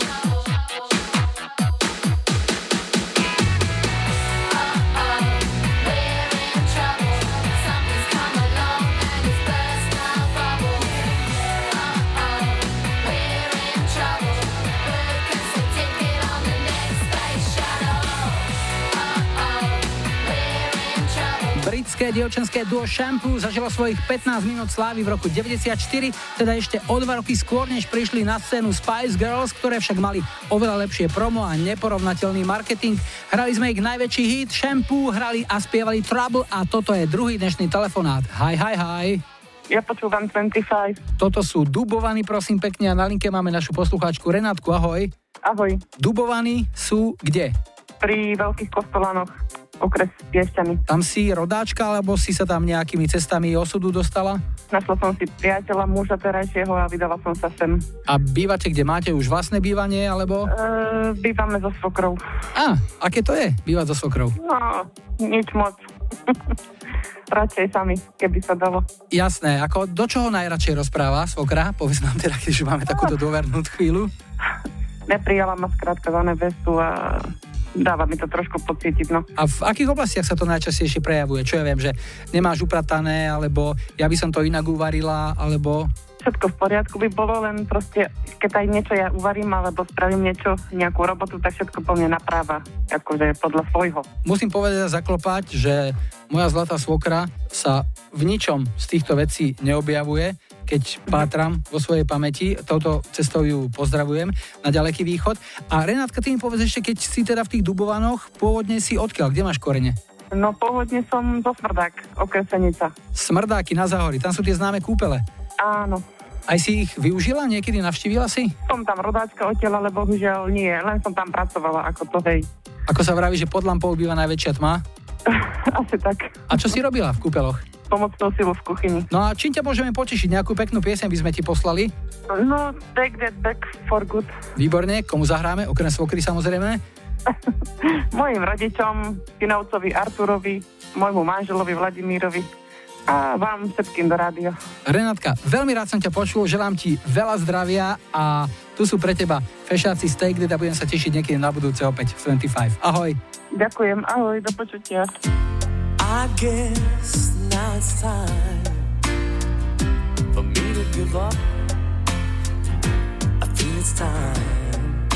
Uh-oh, we're in trouble. Something's come along and it's burst our bubble. Uh-oh, we're in trouble. Book us a ticket on the next space shuttle. Uh-oh, we're in trouble. Britské dievčenské duo Shampoo zažilo svojich pätnásť minút slávy v roku deväťdesiatštyri, teda ešte o dva roky skôr, než prišli na scénu Spice Girls, ktoré však mali oveľa lepšie promo a neporovnateľný marketing. Hrali sme ich najväčší hit Shampoo, hrali a spievali Trouble a toto je druhý dnešný telefonát. Hi, hi, hi. Ja počúvam dvadsaťpäť. Toto sú Dubovaní, prosím pekne, a na linke máme našu poslucháčku Renátku, ahoj. Ahoj. Dubovaní sú kde? Pri Veľkých Kostolanoch, okres Piešťany. Tam si rodáčka, alebo si sa tam nejakými cestami osudu dostala? Našla som si priateľa, muža terajšieho a vydala som sa sem. A bývate kde? Máte už vlastné bývanie, alebo? E, bývame so svokrou. Á, aké to je, bývať so svokrou? No, nič moc. Radšej sami, keby sa dalo. Jasné, ako do čoho najradšej rozpráva svokra? Povedz nám teda, keď už máme takúto dôvernú chvíľu. Neprijala ma skrátka za nevestu a dáva mi to trošku pocítiť, no. A v akých oblastiach sa to najčastejšie prejavuje? Čo ja viem, že nemáš upratané, alebo ja by som to inak uvarila, alebo... Všetko v poriadku by bolo, len proste, keď aj niečo ja uvarím, alebo spravím niečo, nejakú robotu, tak všetko po mne napráva, akože podľa svojho. Musím povedať a zaklopať, že moja zlatá svokra sa v ničom z týchto vecí neobjavuje. keď pátram vo svojej pamäti. Touto cestou ju pozdravujem na ďaleký východ. A Renátka, ty mi povedz ešte, keď si teda v tých Dubovanoch, pôvodne si odkiaľ? Kde máš korene? No pôvodne som zo Smrdák, okres Senica. Smrdáky na Záhori, tam sú tie známe kúpele. Áno. Aj si ich využila? Niekedy navštívila si? Som tam rodáčka odtiaľ, ale bohužiaľ nie, len som tam pracovala ako to, hej. Ako sa vraví, že pod lampou býva najväčšia tma? Asi tak. A čo si robila v kúpeloch? Pomocnú silu v kuchyni. No a čím ťa môžeme potešiť? Nejakú peknú pieseň by sme ti poslali? No, Take That Back for Good. Výborne, komu zahráme? Okrem svokry samozrejme. Mojim rodičom, synovcovi Arturovi, môjmu manželovi Vladimírovi a vám všetkým do rádia. Renátka, veľmi rád som ťa počul, želám ti veľa zdravia a tu sú pre teba fešáci z Take That a budem sa tešiť niekedy na budúce opäť v dvadsaťpäť. Ahoj. Ďakujem, ahoj, do počutia. I guess now it's time for me to give up. I feel it's time.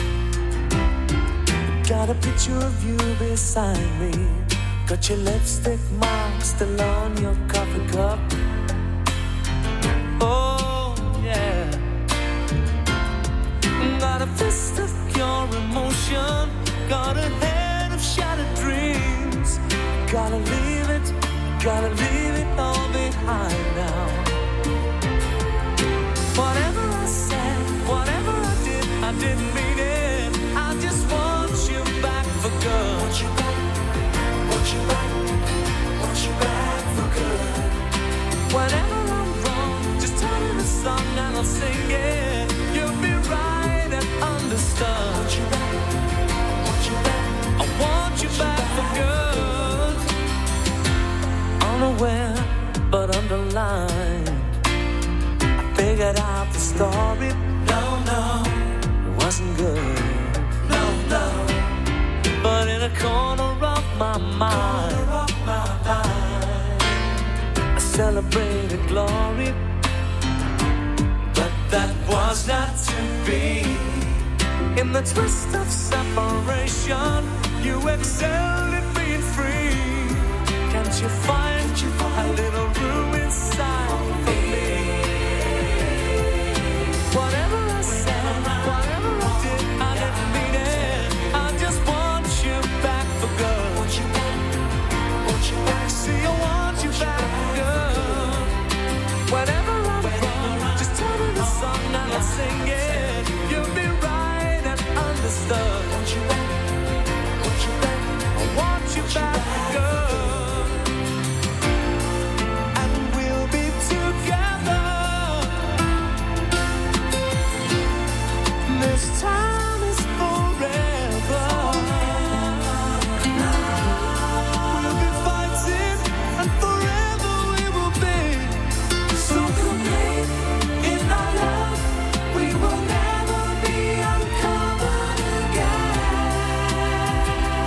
Got a picture of you beside me. Got your lipstick mark still on your coffee cup. Oh, yeah. Got a fist of pure emotion. Got a head of shattered dreams. Gotta leave it, gotta leave it all behind now. Whatever I said, whatever I did, I didn't mean it. I just want you back for good. Want you back, want you back, want you back for good. Whenever I'm wrong, just tell me the song and I'll sing it. You'll be right and understood. Want you back, want you back, I want you back for good. Unaware but underlined, I figured out the story. No, no, it wasn't good. No, no, but in a corner of my mind, of my mind I celebrated glory, but that was not to be. In the twist of separation, you excelled at being free. Can't you find a little room inside for me? Whatever I said, whatever I did, I didn't mean it. I just want you back for good. Want you back, want you back. See, I want you back for good. Whenever I'm wrong, just tell me the song and I'll sing it. You'll be right and understood. Want you back, want you back. I want you back for good. This time is forever. We'll be fighting, and forever we will be so complete in our love. We will never be uncovered again.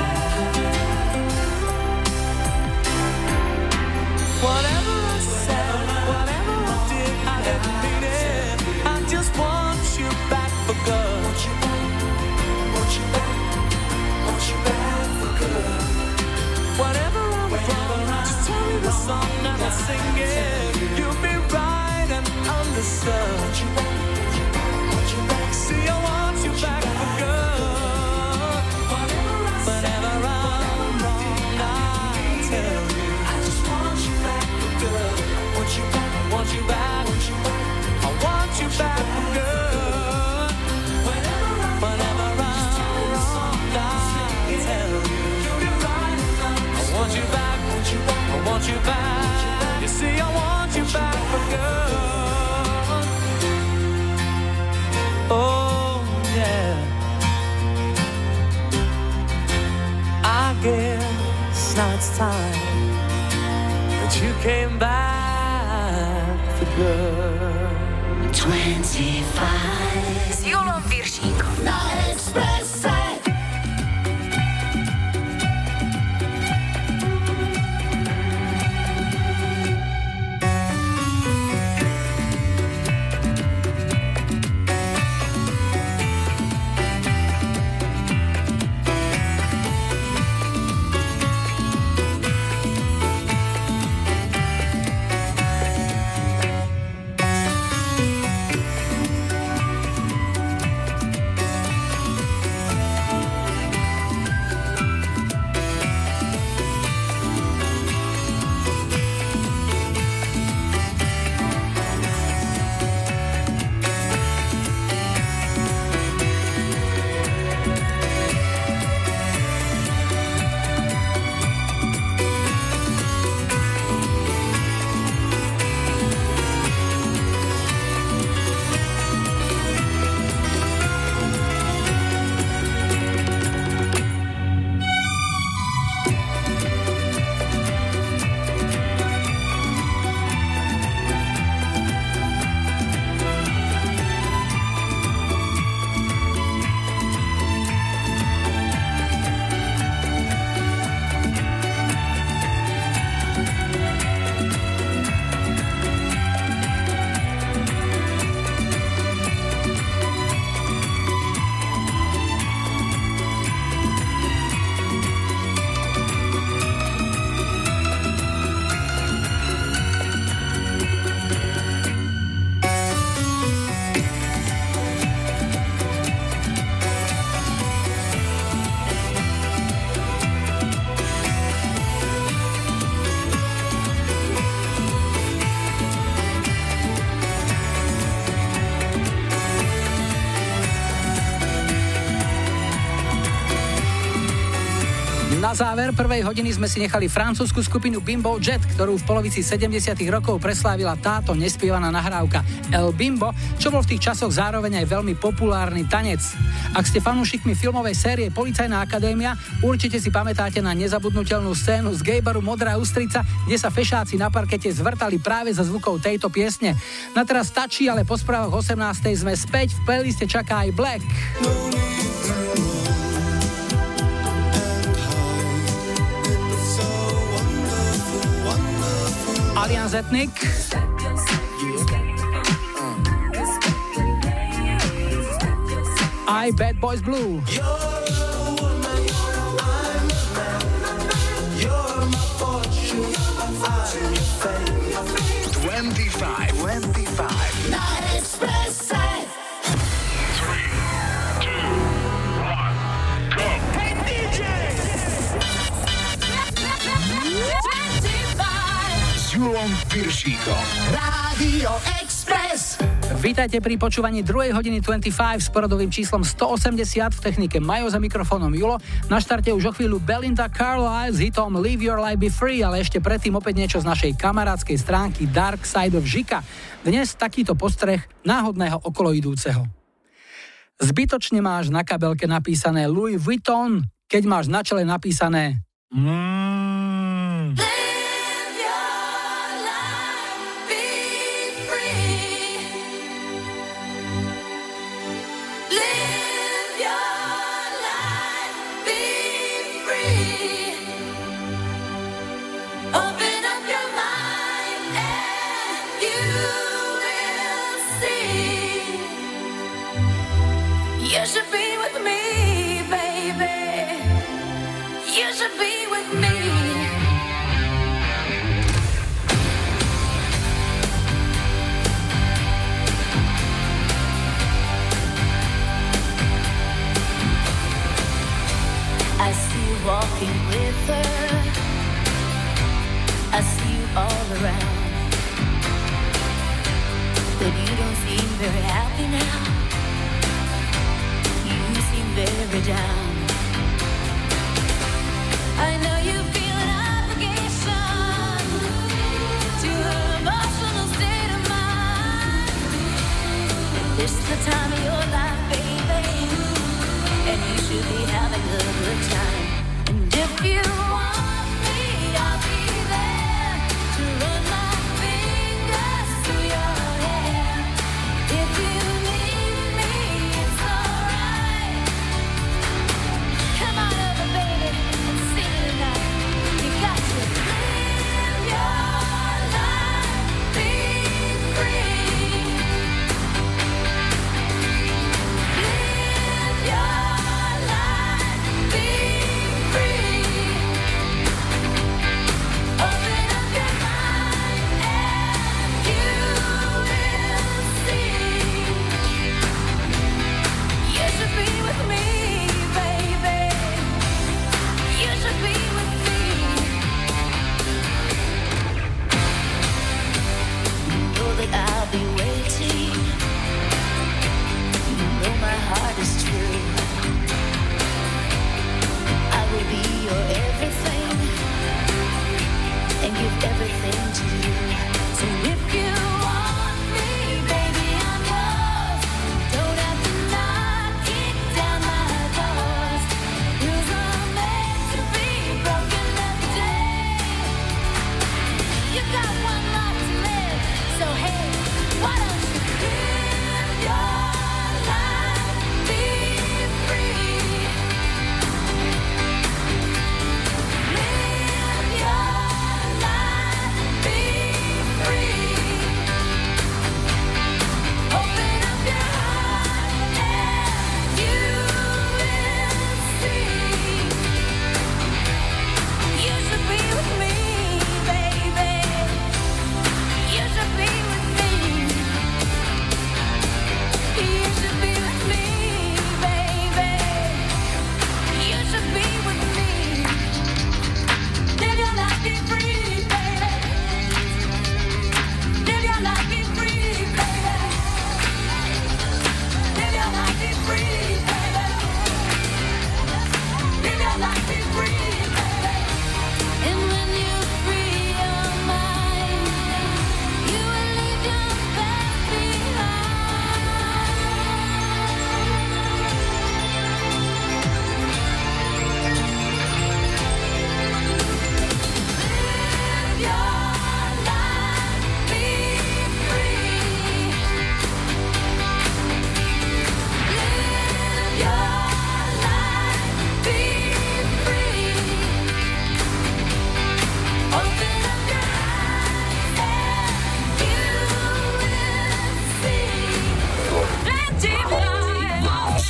Whatever I said, whatever I did, I didn't mean it. I just want you back for good. Want you back, want you back, want you back for good. Whatever I'm wrong, just tell me the song and I'll sing it. You'll be right and understood. Want you back, want you back. See, I want you back for good. Whenever I'm wrong, I tell you, I just want you back for good. Want you back, want you back, want you back. I want you back for good. I want you back. You see, I want you back for good. Oh, yeah. I guess now it's time that you came back for good. dvadsaťpäť s Julom Viršíkom na Expresse. Na záver prvej hodiny sme si nechali francúzsku skupinu Bimbo Jet, ktorú v polovici sedemdesiatych rokov preslávila táto nespievaná nahrávka El Bimbo, čo bol v tých časoch zároveň aj veľmi populárny tanec. Ak ste fanúšikmi filmovej série Policajná akadémia, určite si pamätáte na nezabudnutelnú scénu z gaybaru Modrá ústrica, kde sa fešáci na parkete zvrtali práve za zvukov tejto piesne. Na teraz stačí, ale po správach osemnástej sme späť, v playliste čaká aj Black. Allianz Ethnic, I Bad Boys Blue, dvadsaťpäť, dvadsaťpäť na Expresse. three, two, one, go. Hey dý džej! S Julom Piršíkom. Rádio Express. Vítajte pri počúvaní druhej hodiny dvadsaťpäť s poradovým číslom stoosemdesiat, v technike Majo, za mikrofónom Julo. Na štarte už o chvíľu Belinda Carlisle s hitom Live Your Life Be Free, ale ešte predtým opäť niečo z našej kamarádskej stránky Dark Side of Žika. Dnes takýto postreh náhodného okoloidúceho. Zbytočne máš na kabelke napísané Louis Vuitton, keď máš na čele napísané mm. You should be with me, baby. You should be with me. I see you walking with her. I see you all around. But you don't seem very happy now. Very down. I know you feel an obligation to her emotional state of mind. This is the time of your life, baby, and you should be having a good time. And if you want me, I'll be there to run my fingers through your hair. If you need me, it's alright. Come on over, baby, and sing it tonight. You got to live your life, be free. Live your life, be free.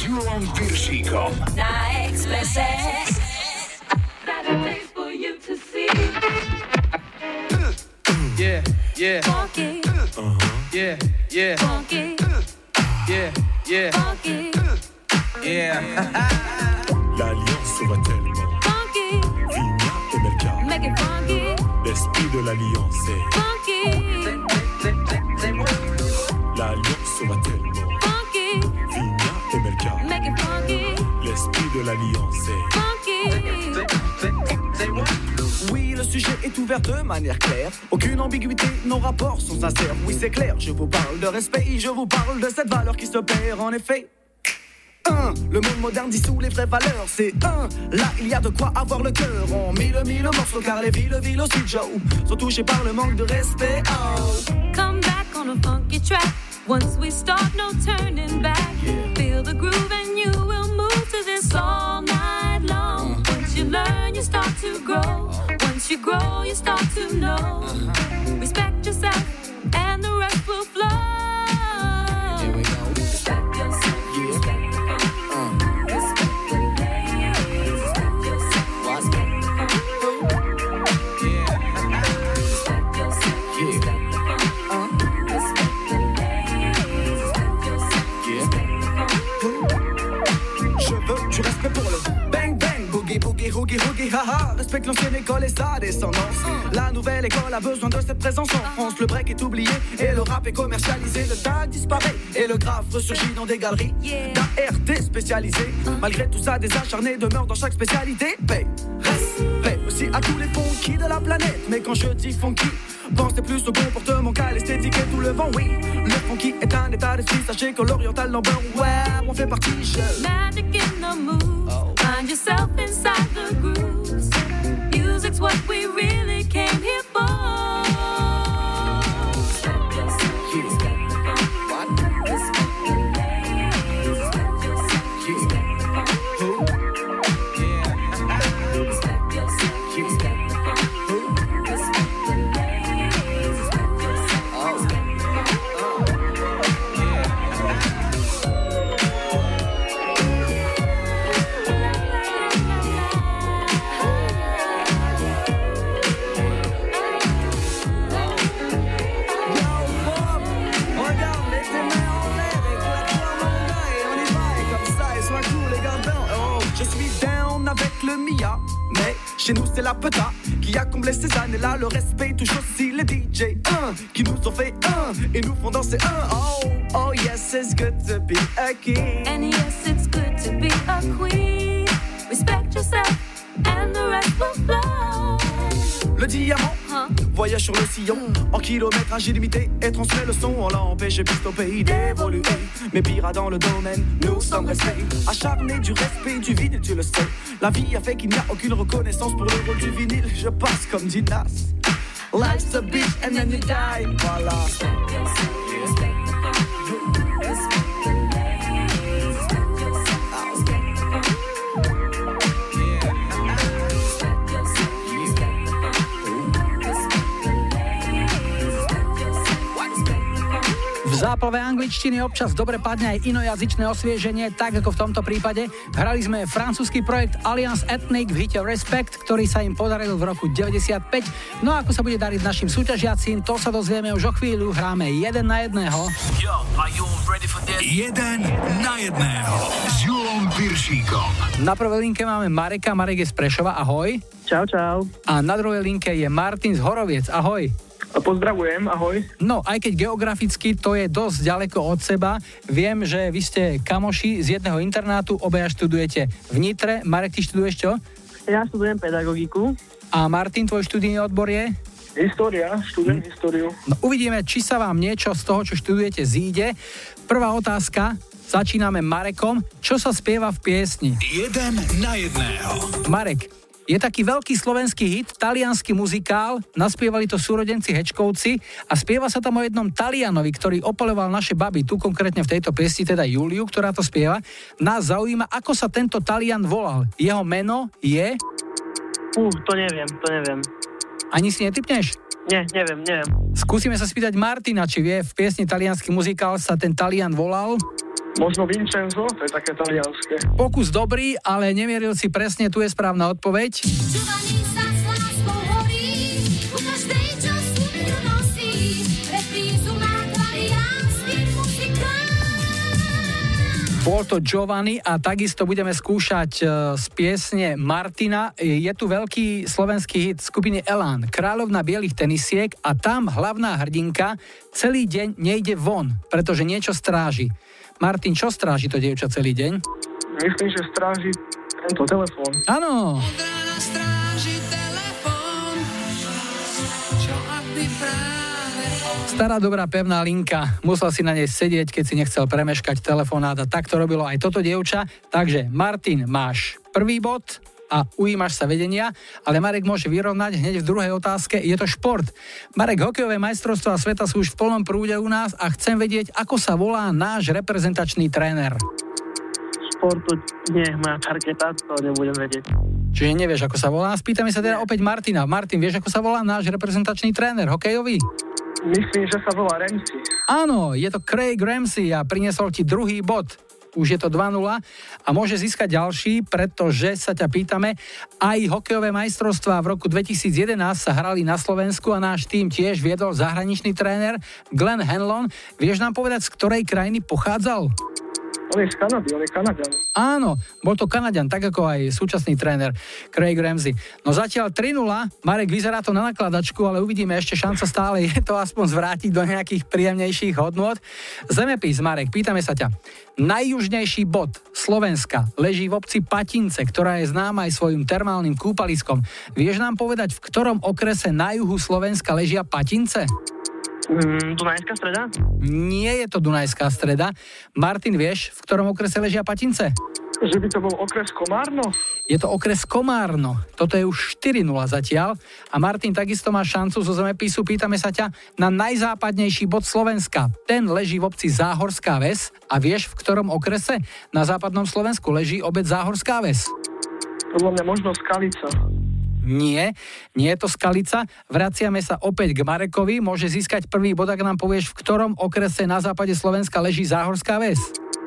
Julom Piršíkom. Na Expresse. Yeah, yeah. Funky. Uh-huh. Yeah, yeah. Funky. Yeah, yeah. Funky. Yeah. L'alliance va tellement. Funky. Vigna et Melka. Make it funky. L'esprit de l'alliance est. Funky. L'alliance va tellement. Funky. Vigna et Melka. Make it funky. L'esprit de l'alliance est. Funky. Oui, le sujet est ouvert de manière claire. Aucune ambiguïté, nos rapports sont sincères. Oui, c'est clair, je vous parle de respect, je vous parle de cette valeur qui se perd en effet. Un, le monde moderne dissout les vraies valeurs. C'est un, là il y a de quoi avoir le cœur. On mille mille morceaux car les villes, villes aussi Joe sont touchées par le manque de respect. Oh. Come back on a funky track. Once we start, no turning back. Yeah. Feel the groove and you will move to this all night long. Uh. Once you learn, you start to grow. Once you grow, you start to know. Uh-huh. Respect yourself and the rest will flow. Here we go. Respect yourself. Yeah. Respect the funk. Uh. Respect the ladies. Respect yourself. What? Respect the funk. Yeah. Respect yourself. Yeah. Respect the funk. Uh. Respect the ladies. Respect yourself. Yeah. Respect the funk. Je veux du respect pour le bang bang, boogie boogie, hoogie hoogie, haha. Respecte l'ancienne école et sa descendance. La nouvelle école a besoin de cette présence en France. Le break est oublié et le rap est commercialisé. Le tag disparaît et le graphe ressurgit dans des galeries d'A R T spécialisées. Malgré tout ça, des acharnés demeurent dans chaque spécialité. Paix, respect aussi à tous les funky de la planète. Mais quand je dis funky, pensez plus au comportement qu'à l'esthétique et tout le vent, oui. Le funky est un état d'esprit, sachez que l'oriental number, ouais, on fait partie, je... Magic in the moves. Oh. Find yourself inside the grooves. Music's what we really came here for. Respect yourself. Yeah. Respect the funk. What? Respect the ladies. Respect yourself. Yeah. Respect the funk. Who? Yeah. Respect yourself. Yeah. Respect the funk. Who? Respect the ladies. Respect yourself. Oh. Respect the funk. Je suis down avec le Mia, mais chez nous c'est la peta qui a comblé ces années-là. Le respect touche aussi les D J un qui nous ont fait un et nous font danser un. Oh, oh yes, it's good to be a king. And yes, it's good to be a queen. Respect yourself and the rest will flow. Le diamant Huh? voyage sur le sillon en kilométrage illimité et transmet le son. On l'a empêché plus au pays d'évoluer. Mais pire dans le domaine, nous sommes restés acharnés du respect du vinyle, tu le sais. La vie a fait qu'il n'y a aucune reconnaissance pour le rôle du vinyle. Je passe comme dit Nas. Life's a bitch and then you die. Voilà. Respect yourself. Respect the funk. Respect the ladies. Respect yourself. Respect the funk. Respect yourself. Respect the funk. Respect the ladies. Respect yourself. Respect the funk. V záplave angličtiny občas dobre padne aj inojazyčné osvieženie, tak ako v tomto prípade. Hrali sme francúzsky projekt Alliance Ethnic v hite Respect, ktorý sa im podaril v roku deväťdesiatpäť. No a ako sa bude dariť našim súťažiacím, to sa dozvieme už o chvíľu. Hráme jeden na jedného. Yo, are you ready for this? Jeden na jedného s Julom Piršíkom. Na prvej linke máme Mareka. Marek je z Prešova, ahoj. Čau, čau. A na druhej linke je Martin z Horoviec, ahoj. Pozdravujem, ahoj. No, aj keď geograficky to je dosť ďaleko od seba, viem, že vy ste kamoši z jedného internátu, obaja študujete v Nitre. Marek, ty študuješ čo? Ja študujem pedagogiku. A Martin, tvoj študijný odbor je? História, študujem hm. históriu. No, uvidíme, či sa vám niečo z toho, čo študujete, zíde. Prvá otázka, začíname Marekom. Čo sa spieva v piesni? Jeden na jedného. Marek, je taký veľký slovenský hit, taliansky muzikál, naspievali to súrodenci Hečkovci a spieva sa tam o jednom Talianovi, ktorý opoľoval naše baby, tu konkrétne v tejto piesni, teda Juliu, ktorá to spieva. Nás zaujíma, ako sa tento Talian volal. Jeho meno je... Uh, to neviem, to neviem. Ani si netypneš? Nie, neviem, neviem. Skúsime sa spýtať Martina, či vie, v piesni Taliansky muzikál sa ten Talian volal? Možno Vincenzo, to je také talianské. Pokus dobrý, ale nemieril si presne, tu je správna odpoveď. Bol to Giovanni a takisto budeme skúšať z piesne Martina. Je tu veľký slovenský hit skupiny Elán, Kráľovna bielých tenisiek, a tam hlavná hrdinka celý deň nejde von, pretože niečo stráži. Martin, čo stráži to dievča celý deň? Myslím, že stráži tento telefón. Áno. Stará dobrá pevná linka. Musel si na nej sedieť, keď si nechcel premeškať telefonát, a tak to robilo aj toto dievča. Takže Martin, máš prvý bod a ujímaš sa vedenia, ale Marek môže vyrovnať hneď v druhej otázke. Je to šport. Marek, hokejové majstrovstvá sveta sú už v plnom prúde u nás a chcem vedieť, ako sa volá náš reprezentačný tréner. Športu, nie, moja parketa, to nebudem vedieť. Čiže nevieš, ako sa volá? Spýtame sa teda opäť Martina. Martin, vieš, ako sa volá náš reprezentačný tréner hokejový? Myslím, že sa volá Ramsey. Áno, je to Craig Ramsey a priniesol ti druhý bod. Už je to dva nula a môže získať ďalší, pretože sa ťa pýtame, aj hokejové majstrovstvá v roku dvetisíc jedenásť sa hrali na Slovensku a náš tým tiež viedol zahraničný tréner Glenn Hanlon. Vieš nám povedať, z ktorej krajiny pochádzal? On je z Kanady, on je Kanaďan. Áno, bol to Kanaďan, tak ako aj súčasný tréner Craig Ramsey. No zatiaľ tri nula, Marek, vyzerá to na nakladačku, ale uvidíme, ešte šanca stále je to aspoň zvrátiť do nejakých príjemnejších hodnôt. Zemepis, Marek, pýtame sa ťa. Najjužnejší bod Slovenska leží v obci Patince, ktorá je známa aj svojim termálnym kúpaliskom. Vieš nám povedať, v ktorom okrese na juhu Slovenska ležia Patince? Mm, Dunajská streda? Nie je to Dunajská streda. Martin, vieš, v ktorom okrese ležia Patince? Že by to bol okres Komárno? Je to okres Komárno. Toto je už štyri nula zatiaľ. A Martin, takisto má šancu zo zemepisu. Pýtame sa ťa na najzápadnejší bod Slovenska. Ten leží v obci Záhorská Ves. A vieš, v ktorom okrese na západnom Slovensku leží obec Záhorská Ves? Podľa mňa možno Skalica. Nie, nie je to Skalica. Vraciame sa opäť k Marekovi. Môže získať prvý bod, ak nám povieš, v ktorom okrese na západe Slovenska leží Záhorská Ves.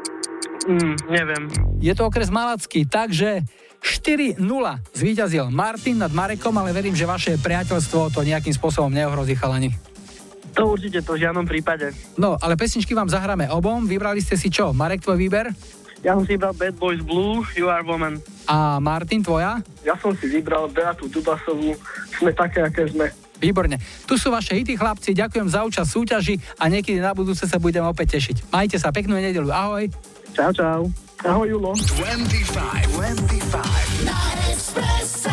Mm, neviem. Je to okres Malacký, takže štyri nula zvíťazil Martin nad Marekom, ale verím, že vaše priateľstvo to nejakým spôsobom neohrozí, chalani. To určite, to v žiadnom prípade. No, ale pesničky vám zahráme obom. Vybrali ste si čo? Marek, tvoj výber? Ja som si vybral Bad Boys Blue, You Are Woman. A Martin, tvoja? Ja som si vybral Beatu Dubasovú, Sme také, aké sme. Výborne. Tu sú vaše hity, chlapci. Ďakujem za účasť v súťaži a niekedy na budúce sa budeme opäť tešiť. Majte sa, peknú nedeľu. Ahoj. Čau, čau. Ahoj, Julo. dvadsaťpäť, dvadsaťpäť. Na Expresse.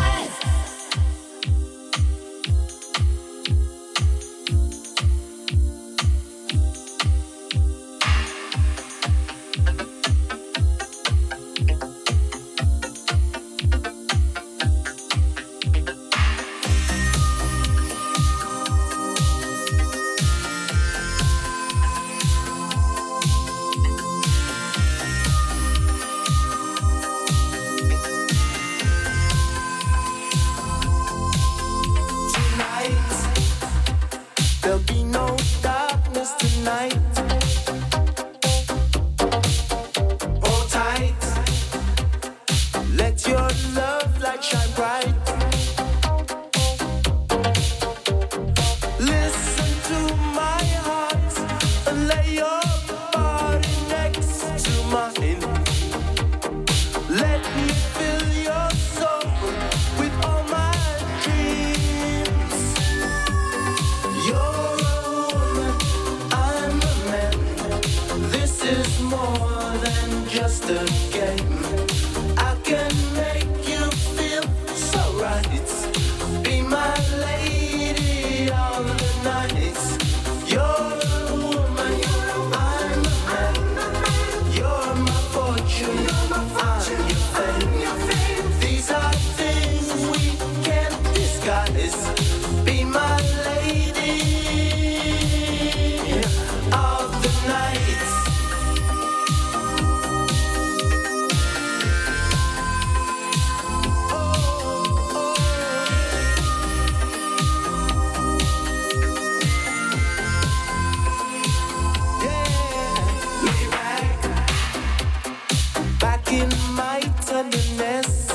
in my tenderness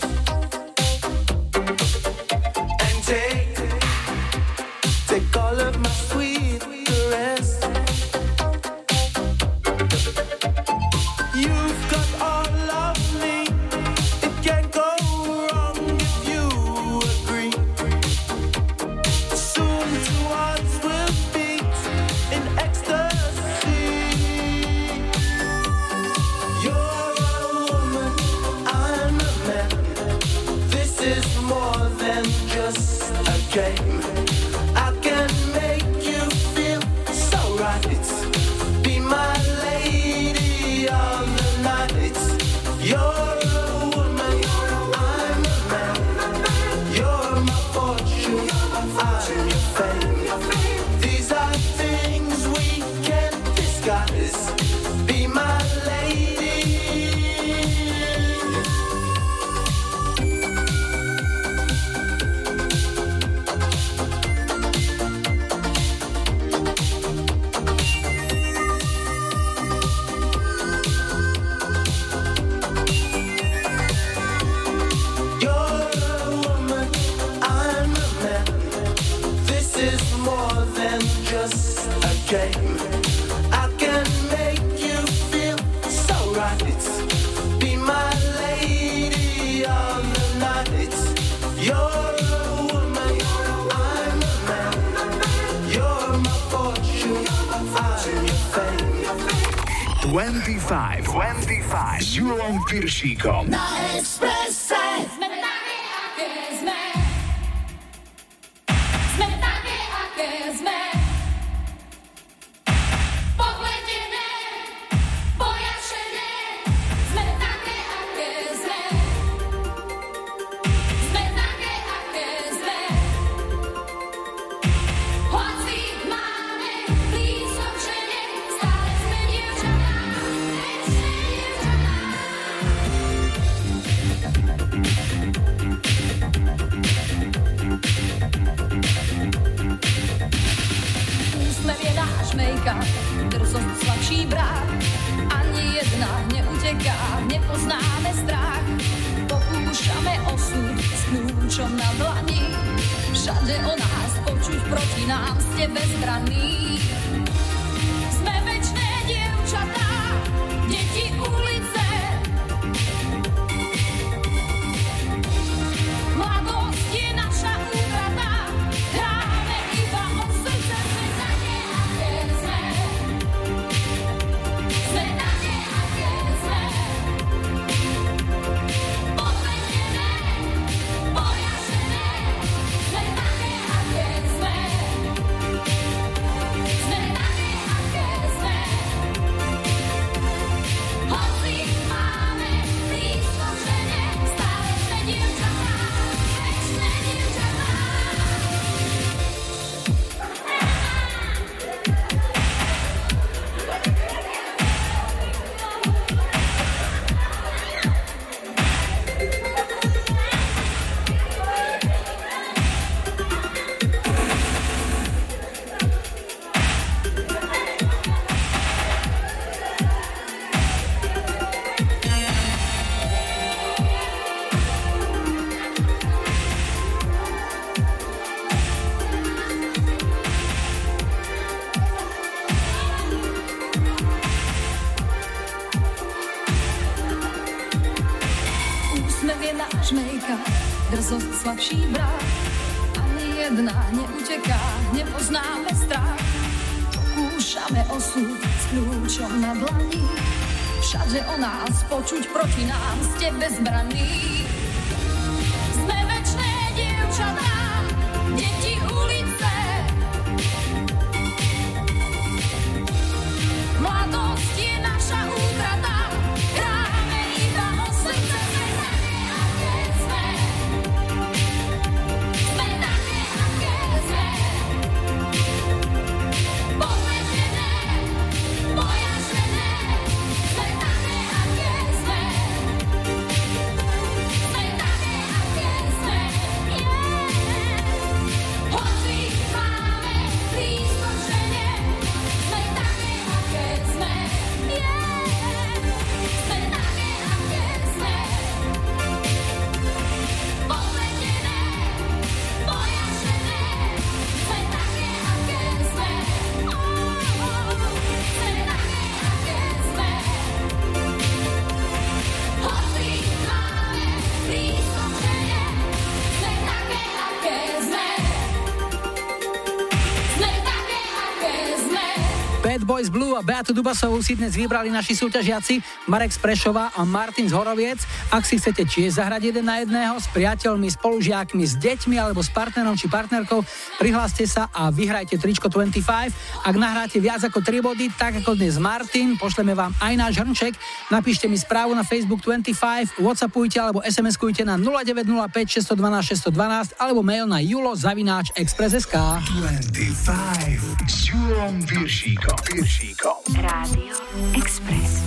and take, take all of my sweet caress. You've got all of me, it can't go wrong if you agree. Soon two hearts will beat in ecstasy. You're a woman, I'm a man. This is more than just a game. I can make you feel so right. Be my lady of the night. You're a woman, I'm a man. You're my fortune, I'm your fame. These are things we can't disguise. Be my lady. You're a woman, I'm a man. This is more than just a game. I can make you feel so right. Be my lady of the night. You're a woman, I'm a man. You're my fortune, I'm your fame. dvadsaťpäť, dvadsaťpäť s Julom Piršíkom. Na Expresse. Sme také, aké sme. Sme také, aké sme. Pohledené, pojašené. Sme také, aké sme. Sme také, aké sme. Hoci máme blízko k žene, stále sme dievčatá, ešte dievčatá. Úsmev je náš make-up, drzosť slabší brák. Ani jedna neuteká, nepoznáme strach. Pokúšame osud s kľúčom na dlani. Všade o nás počuť, proti nám ste bezbranní. Sme večné dievčatá, deti ulice. Mladosť je naša útrata, hráme iba o srdce. Sme také, aké sme. Sme také, aké sme. Pohledené, pojašené. Sme také, aké sme. Sme také, aké sme. Hoci máme blízko k žene, stále sme dievčatá, večné dievčatá. Úsmev je náš make-up, drzosť slabší brák. Ani jedna neuteká, nepoznáme strach. Pokúšame osud s kľúčom na dlani. Všade o nás počuť, proti nám ste bezbranní. Sme večné dievčatá, deti ulice. Mladosť je naša útrata, hráme iba o srdce. Sme také, aké sme. Sme také, aké sme. Pohledené, pojašené. Sme také, aké sme. Sme také, aké sme. Yeah. Hoci Bad Boys Blue a Beatu Dubasovú si dnes vybrali naši súťažiaci Marek z Prešova a Martin z Horoviec. Ak si chcete tiež zahrať jeden na jedného s priateľmi, spolužiakmi, s deťmi alebo s partnerom či partnerkou, prihláste sa a vyhrajte tričko dvadsaťpäť. Ak nahráte viac ako tri body, tak ako dnes Martin, pošleme vám aj náš hrnček. Napíšte mi správu na Facebook dvadsaťpäť, whatsappujte alebo es em eskujte na nula deväť nula päť šesť jedna dva šesť jedna dva alebo mail na julo zavináč express bodka es ká. dvadsaťpäť s Julom Piršíkom. Piršíkom. Rádio Express.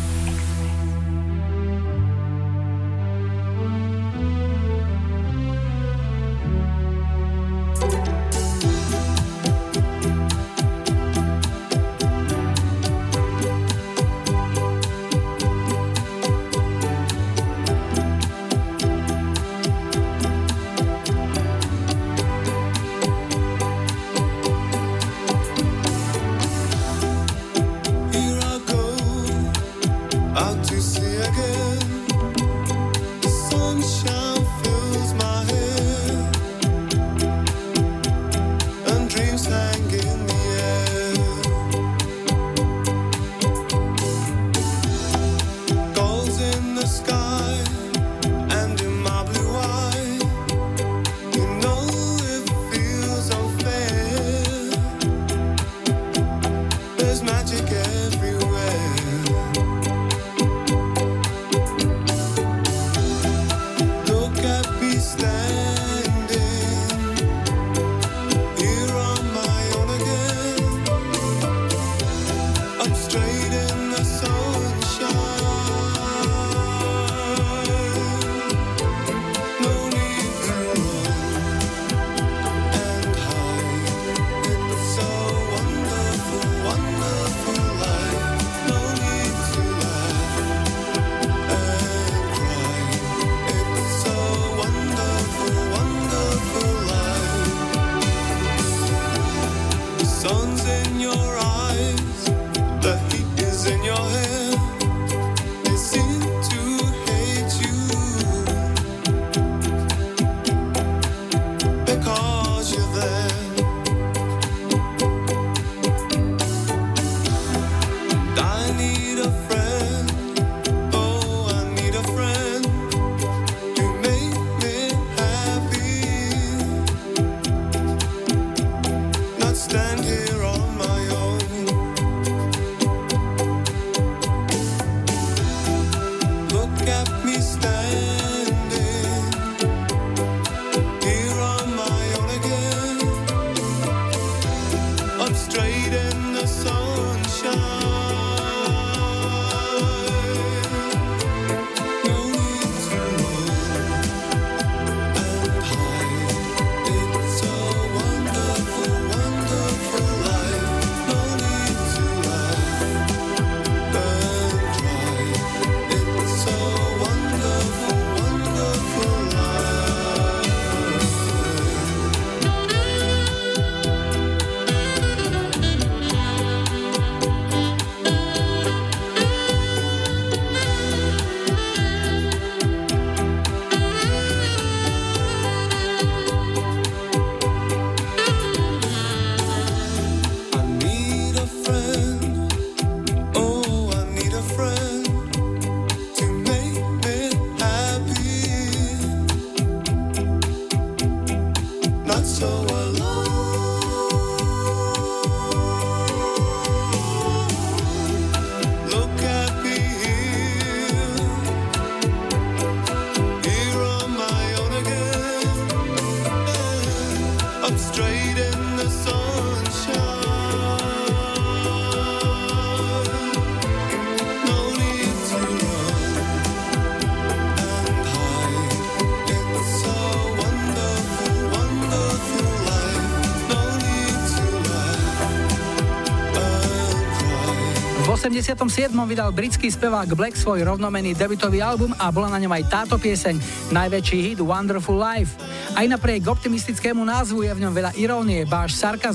V osemdesiatom siedmom vydal britský spevák Black svoj rovnomenný debutový album a bola na ňom aj táto pieseň, najväčší hit Wonderful Life. Aj napriek optimistickému názvu je v ňom veľa irónie, báš sarkazmu. V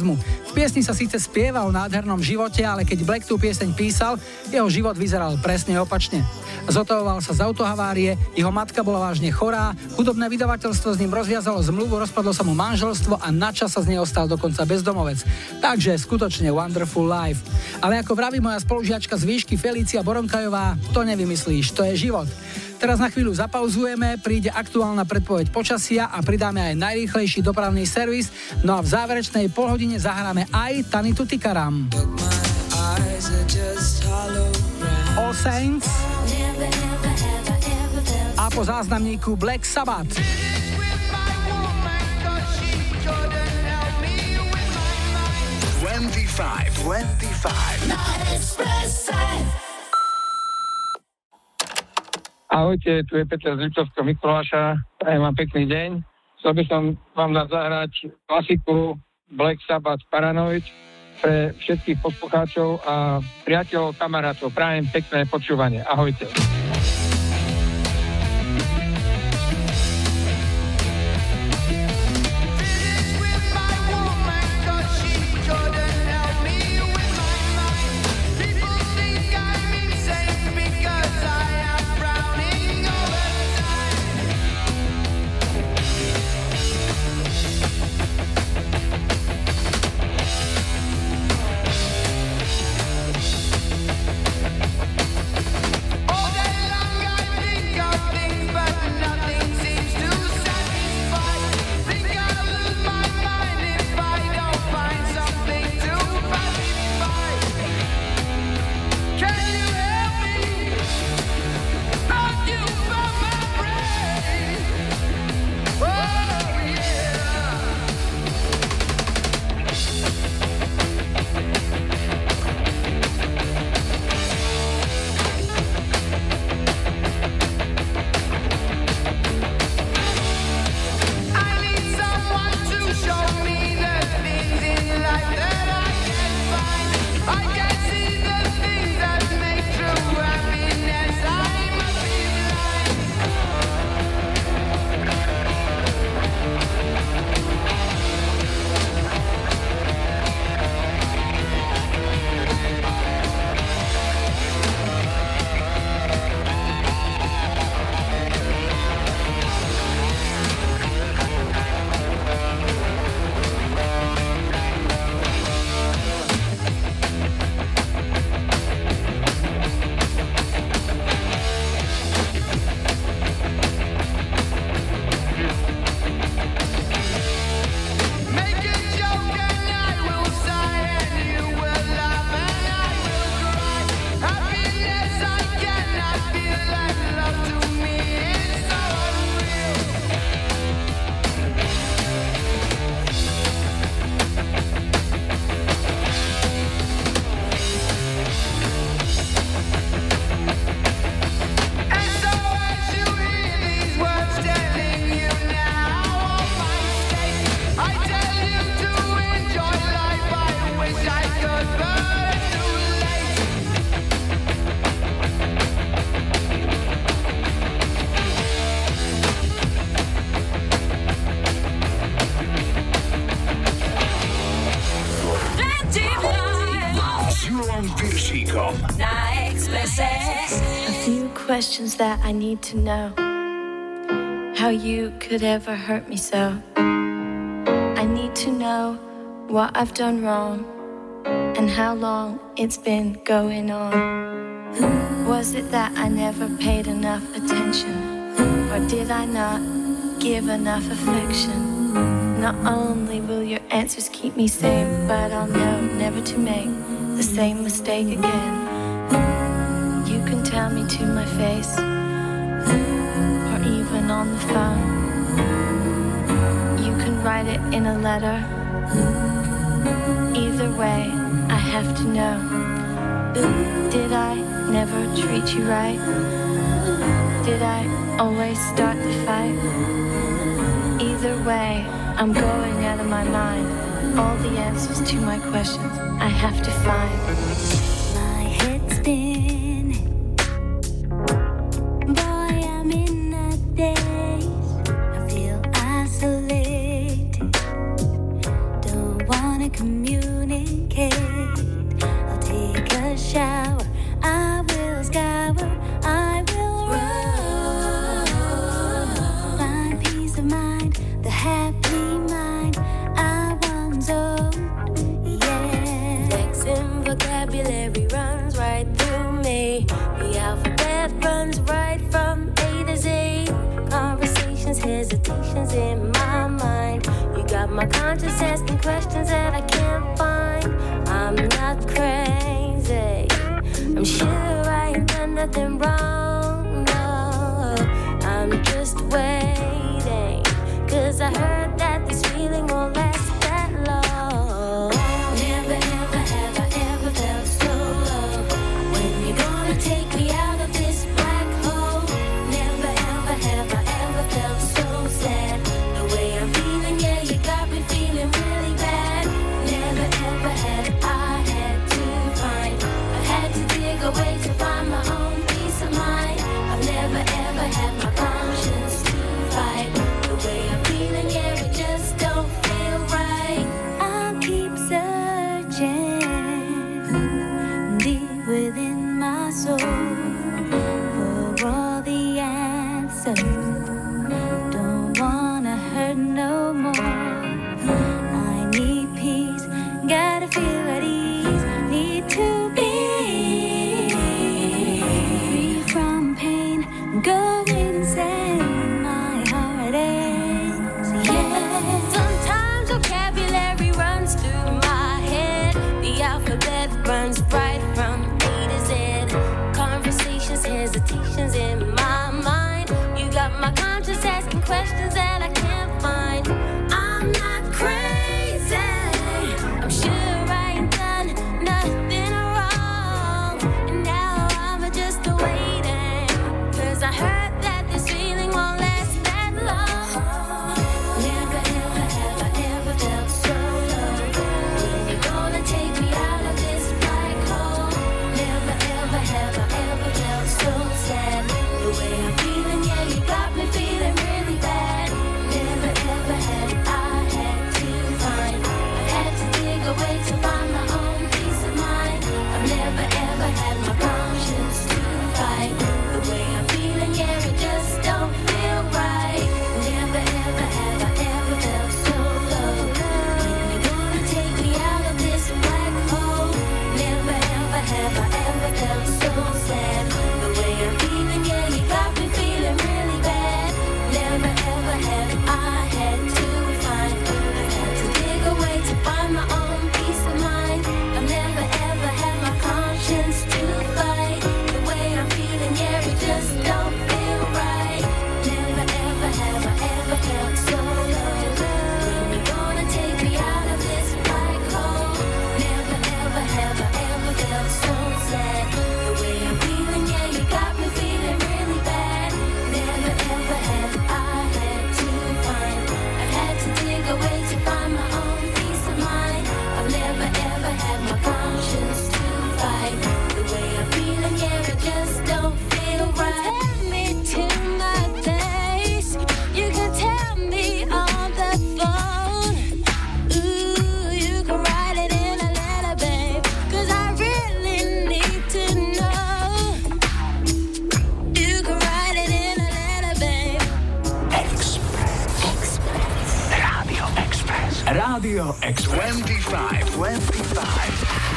V piesni sa síce spieva o nádhernom živote, ale keď Black tú pieseň písal, jeho život vyzeral presne opačne. Zotavoval sa z autohavárie, jeho matka bola vážne chorá, hudobné vydavateľstvo s ním rozviazalo zmluvu, rozpadlo sa mu manželstvo a načas sa z neho stal dokonca bezdomovec. Takže skutočne wonderful life. Ale ako vraví moja spolužiačka z výšky Felícia Boronkajová, to nevymyslíš, to je život. Teraz na chvíľu zapauzujeme, príde aktuálna predpoveď počasia a pridáme aj najrýchlejší dopravný servis, no a v záverečnej polhodine zahráme aj Tanitu Tikaram. All Saints a po záznamníku Black Sabbath. dvadsaťpäť, dvadsaťpäť. Ahojte, tu je Peter z Liptovského Mikuláša, prajem vám pekný deň. Chcel by som vám dať zahrať klasiku Black Sabbath Paranoid pre všetkých poslucháčov a priateľov, kamarátov. Prajem pekné počúvanie. Ahojte. Questions that I need to know. How you could ever hurt me so. I need to know what I've done wrong and how long it's been going on. Was it that I never paid enough attention, or did I not give enough affection? Not only will your answers keep me sane, but I'll know never to make the same mistake again. You can tell me to my face, or even on the phone. You can write it in a letter. Either way, I have to know. Did I never treat you right? Did I always start the fight? Either way, I'm going out of my mind. All the answers to my questions I have to find. My head's spinning. Boy, I'm in a daze. I feel isolated. Don't wanna communicate. hesitations in my mind. You got my conscience asking questions that I can't find. I'm not crazy, I'm sure I ain't done nothing wrong, no. I'm just waiting, cause I heard that this feeling won't last that long. Never ever have I ever felt so low. When you gonna take me out of this black hole? Never ever have I ever felt so sad. The way I'm feeling, yeah, you got me feeling really bad. Never ever had I had to find, I've had to dig away to find my own peace of mind. I've never ever had my conscience to fight. The way I'm feeling, yeah, it just don't feel right. I'll keep searching deep within my soul for all the answers. Don't wanna hurt no more. I need peace, gotta feel at ease. Need to be free from pain, go insane. My heart aches, yeah. Sometimes vocabulary runs through my head. The alphabet runs right from A to Z. Conversations, hesitations in my mind. You got my conscience asking questions that I can't find. I'm not crazy, I'm sure I ain't done nothing wrong. And now I'm just waiting, cause I heard that this feeling won't last that long. Never ever have I ever felt so low. When you gonna take me out of this black hole? Never ever have I ever felt so sad. The way I'm feeling, yeah, you got me feeling really bad. Never ever had I had to find, I've had to dig away to find my own peace of mind. I've never ever had my conscience to fight. The way I'm feeling, yeah, it just don't feel right. Never ever have I ever felt so low. When you gonna take me out of this black hole? Never ever have I ever felt so sad. The way I'm feeling, yeah, you got me feeling really bad. Never ever have I had to find, I've had to dig away to find my own peace of mind. I've never ever had my conscience to fight. The way I'm feeling, yeah, it just don't feel right. Never ever have I ever felt so low. When you gonna take me out of this black hole? Never ever have I ever felt so sad. The way I'm feeling, yeah, you got me feeling really bad. Never ever have I had to find, I've had to dig away to find my own peace of mind. I've never ever had my conscience to fight. The way I'm feeling, yeah, it just don't feel right. Tell me to my face, you can tell me on the phone. Ooh, you can write it in a letter, babe, cause I really need to know. You can write it in a letter, babe. Express. Radio Express. Radio Express. twenty-five. twenty-five.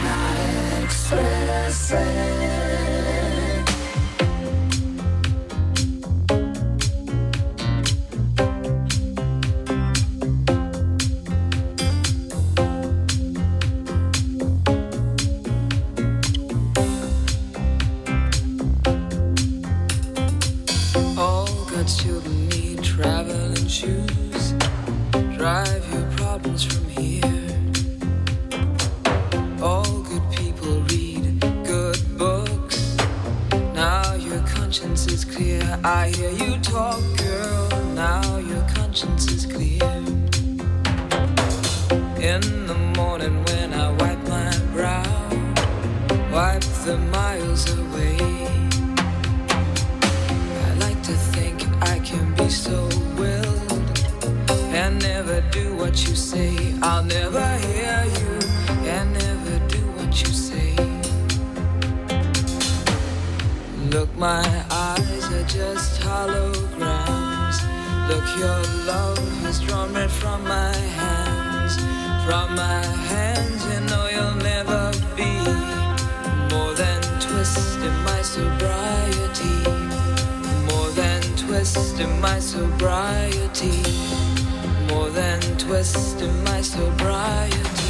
All God's children need traveling shoes. Drive your problems from here. All good people read good books. Now your conscience is clear. I hear you talk, girl. Now your conscience is clear. In the morning when I wipe my brow, wipe the miles away. I like to think I can be so willed and never do what you say. I'll never hear you and never do what you say. Look, my eyes are just holograms. Look, your love has drawn red from my hands. From my hands, you know you'll never be more than twist in my sobriety. More than twist twist in my sobriety. More than twist in my sobriety.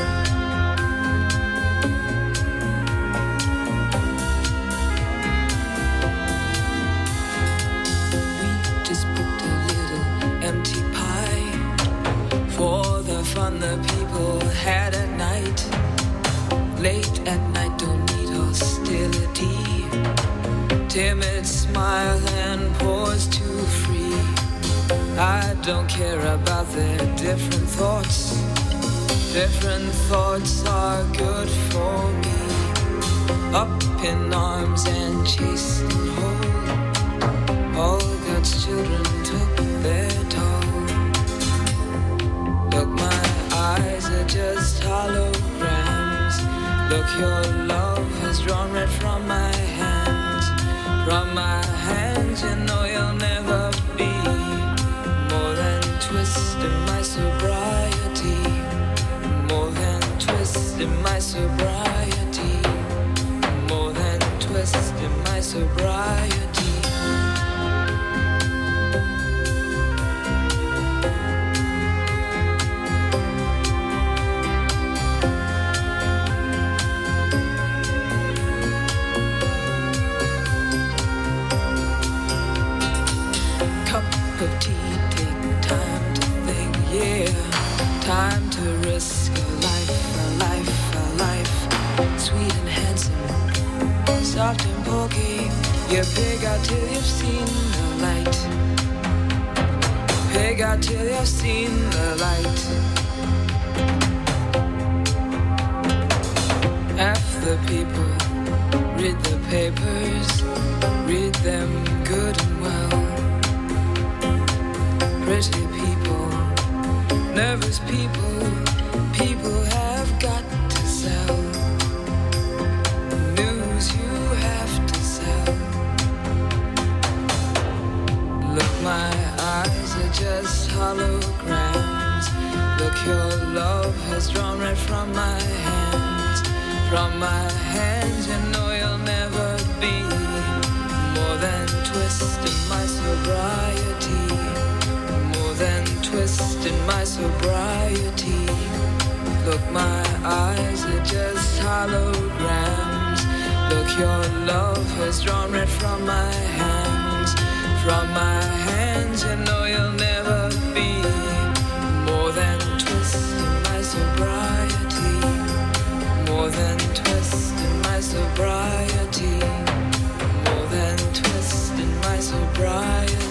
We just booked a little empty pie for the fun the people had at night. Late at night, don't need hostility. Timid smile and pause too free. I don't care about their different thoughts. Different thoughts are good for me. Up in arms and chased and whole. All God's children took their toll. Look, my eyes are just holograms. Look, your love has drawn red from my hands. From my hands, you know you'll never be more than twist in my sobriety. More than twist in my sobriety. More than twist in my sobriety. Of tea, take time to think, yeah. Time to risk a life, a life, a life. Sweet and handsome, soft and pokey. You pig out till you've seen the light. Pig out till you've seen the light. Half the people read the papers, read them good and well. Pretty people, nervous people, people have got to sell. News you have to sell. Look, my eyes are just holograms. Look, your love has drawn red from my hands. From my hands, you know you'll never be more than twist in my sobriety. Then twist in my sobriety. Look, my eyes are just holograms. Look, your love has drawn red from my hands. From my hands, you know you'll never be more than twist in my sobriety. More than twist in my sobriety. More than twist in my sobriety.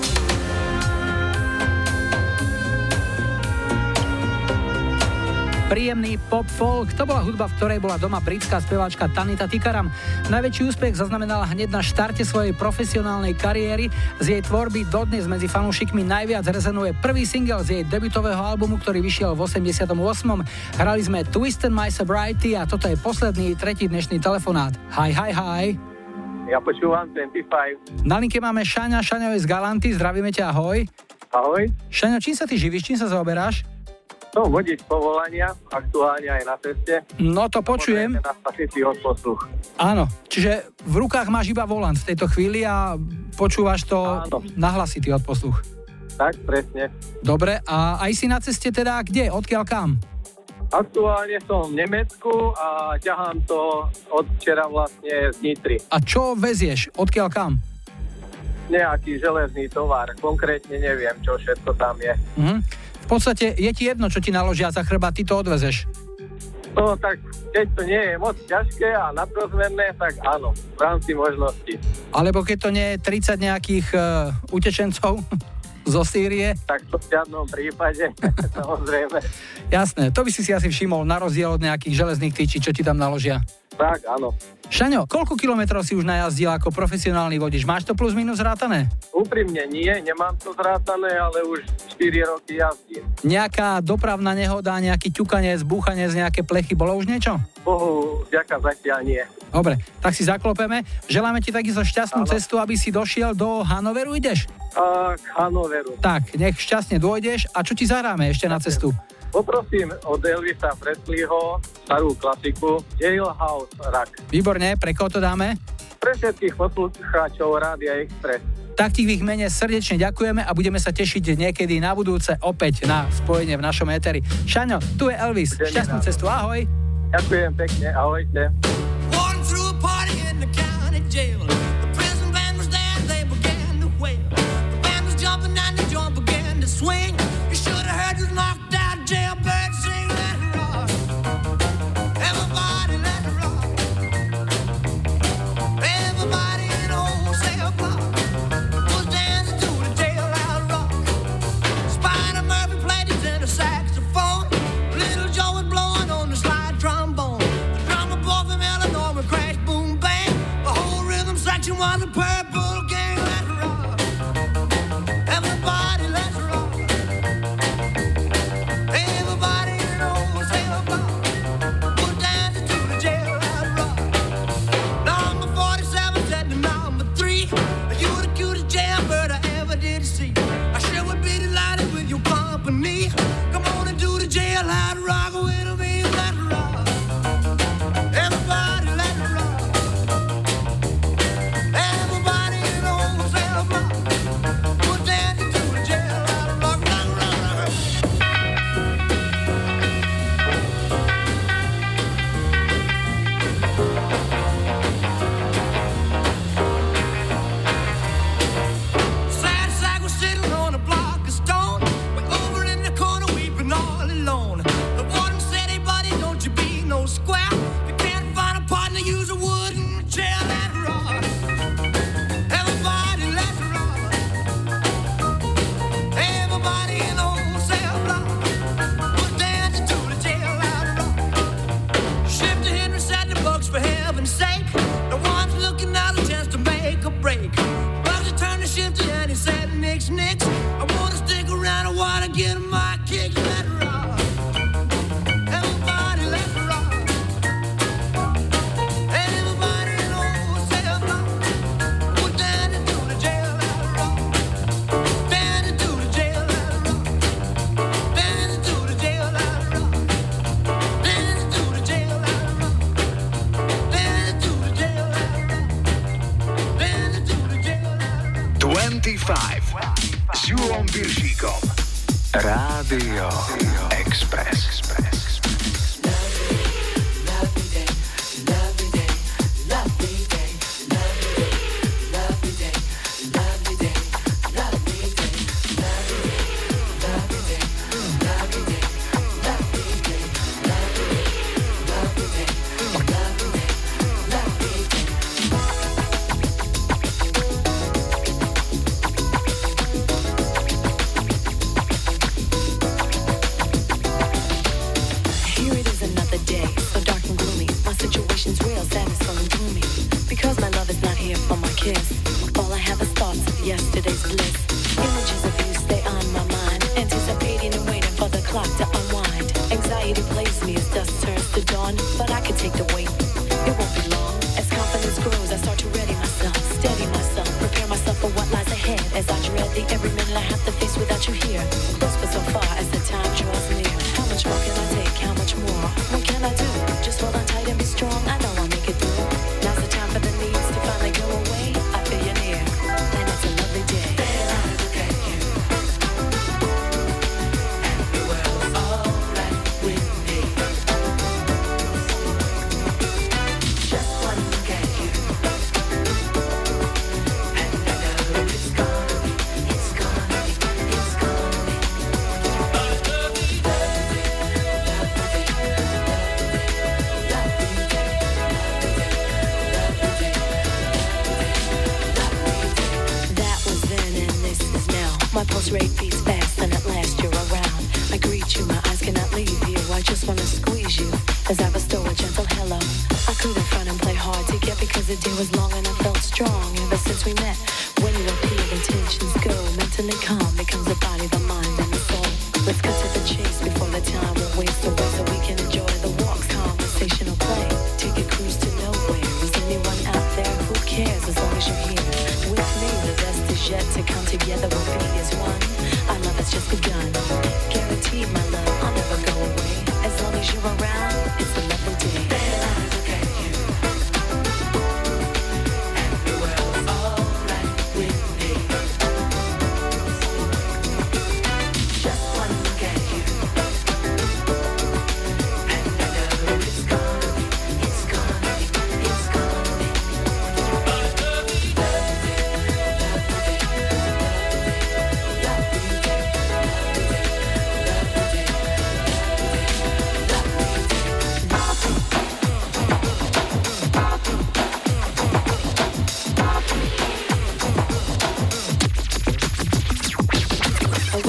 Príjemný pop-folk, to bola hudba, v ktorej bola doma britská speváčka Tanita Tikaram. Najväčší úspech zaznamenala hneď na štarte svojej profesionálnej kariéry. Z jej tvorby dodnes medzi fanúšikmi najviac rezonuje prvý single z jej debutového albumu, ktorý vyšiel v osemdesiatom ôsmom. Hrali sme Twist in My Sobriety a toto je posledný, tretí dnešný telefonát. Hi, hi, hi. Ja počúvam dvadsaťpäť. Na linke máme Šaňa, Šaňo je z Galanty, zdravíme ťa, ahoj. Ahoj. Šaňo, čím sa ty živíš, čím sa zaoberáš? Som vodič povolania, aktuálne aj na ceste. No to počujem. Na spasitý odposluch. Áno, čiže v rukách máš iba volant v tejto chvíli a počúvaš to na hlasitý odposluch. Tak, presne. Dobre, a aj si na ceste teda kde? Odkiaľ kam? Aktuálne som v Nemecku a ťahám to od včera vlastne z Nitry. A čo vezieš? Odkiaľ kam? Nejaký železný tovar, konkrétne neviem, čo všetko tam je. Mhm. V podstate je ti jedno, čo ti naložia za chrbát, ty to odvezeš. No tak, keď to nie je moc ťažké a nadrozmerné, tak áno, v rámci možností. Alebo keď to nie je tridsať nejakých uh, utečencov zo Sýrie. Tak to v žiadnom prípade, samozrejme. Jasné, to by si si asi všimol, na rozdiel od nejakých železných tyčí, čo ti tam naložia. Tak, áno. Šaňo, koľko kilometrov si už najazdil ako profesionálny vodič? Máš to plus minus zrátané? Úprimne nie, nemám to zrátané, ale už štyri roky jazdím. Nejaká dopravná nehoda, nejaký ťukanec, búchanec, nejaké plechy, bolo už niečo? Bohu, vďaka zatiaľ nie. Dobre, tak si zaklopeme. Želáme ti takisto šťastnú Áno. cestu, aby si došiel do Hanoveru, ideš? A, k Hanoveru. Tak, nech šťastne dôjdeš. A čo ti zahráme ešte na cestu? Poprosím od Elvisa Presleyho starú klasiku Jailhouse Rock. Výborne, pre koho to dáme? Pre všetkých poslucháčov Rádia Express. Tak ti v ich mene srdečne ďakujeme a budeme sa tešiť niekedy na budúce opäť na spojenie v našom éteri. Šaňo, tu je Elvis. Šťastnú cestu, ahoj. Ďakujem pekne, ahojte. Walking through a party in the county jail. The prison band was there, they began to wail. The band was jumping and the joint began to swing. You should have heard this knocked out jailbird sing. Let it rock. Everybody let it rock. Everybody in the whole cell block was dancing to the jailhouse rock. Spider Murphy played his tenor saxophone. Little Joe was blowing on the slide trombone. The drummer boy from Illinois would crash, boom, bang. The whole rhythm section was a purple gang. Let's rock. Everybody, let's rock. Everybody in the whole cell block was dancing to the jailhouse rock. Number forty-seven said to number three, you were the cutest jailbird I ever did see. I sure would be delighted with your company. Come on and do the jailhouse rock with me. Let's rock. Everybody, let's rock. Everybody in the whole cell block was dancing to the jailhouse rock. Rock, rock, rock. Sad sack was sitting on a block of stone. Way over in the corner weeping all alone. The warden said, hey buddy, don't you be no square. You can't find a partner, use a wooden chair. Let's rock. Everybody, let's rock. Everybody in the whole cell block was dancing to the jailhouse rock. Shifter Henry said the bucks for heaven's sake. The one's looking out a chance to make a break. Bugsy turned to Shifter and he said, Nix, Nix, I wanna stick around, I wanna get my kicks. Let's rock. Everybody, let's rock. Everybody in the whole cell block was dancing to the jailhouse rock. Dancing to the jailhouse rock. Dancing to the jailhouse rock. Dancing to the jailhouse rock. Dancing to the jailhouse rock. Dancing to the jailhouse rock. dvadsaťpäť s Júlom Piršíkom. Rádio Express. Here it is another day, so dark and gloomy. My situation's real, sad and so gloomy. Because my love is not here for my kiss. All I have is thoughts of yesterday's bliss. Images of you stay on my mind, anticipating and waiting for the clock to unwind. Anxiety plays me as dusk turns to dawn, but I can take the wait. It won't be long. As confidence grows, I start to ready myself, steady myself, prepare myself for what lies ahead. As I dread the every minute I have to face without you here. Close but so far as the time draws near. How much more can I take? How much more? What can I do? Just hold on tight and be strong. I know I'll make it through. Now's the time for the needs to finally go away. I feel you near, and it's a lovely day. Then I look at you, and the world's alright with me. Just one look at you, and I know it's gonna be, it's gonna be, it's gonna be. That was then and this is now. My pulse rate beats fast and at last you're around. I greet you, my eyes cannot leave you. I just wanna squeeze you as I bestow a gentle hello. I couldn't front and play hard to get because the day was long and I felt strong ever since we met. When you appear, intentions go. Mentally calm becomes the body, the mind, and the soul. Let's cut to the chase before the time will waste away so we can enjoy the walks, conversational play. Take a cruise to nowhere. Is anyone out there? Who cares as long as you're here with me? The best is yet to come together. We'll be as one. Our love has just begun. Guaranteed, my love, I'll never go away. As long as you're around, it's a lovely day. Then I look at you, and the world's alright with me.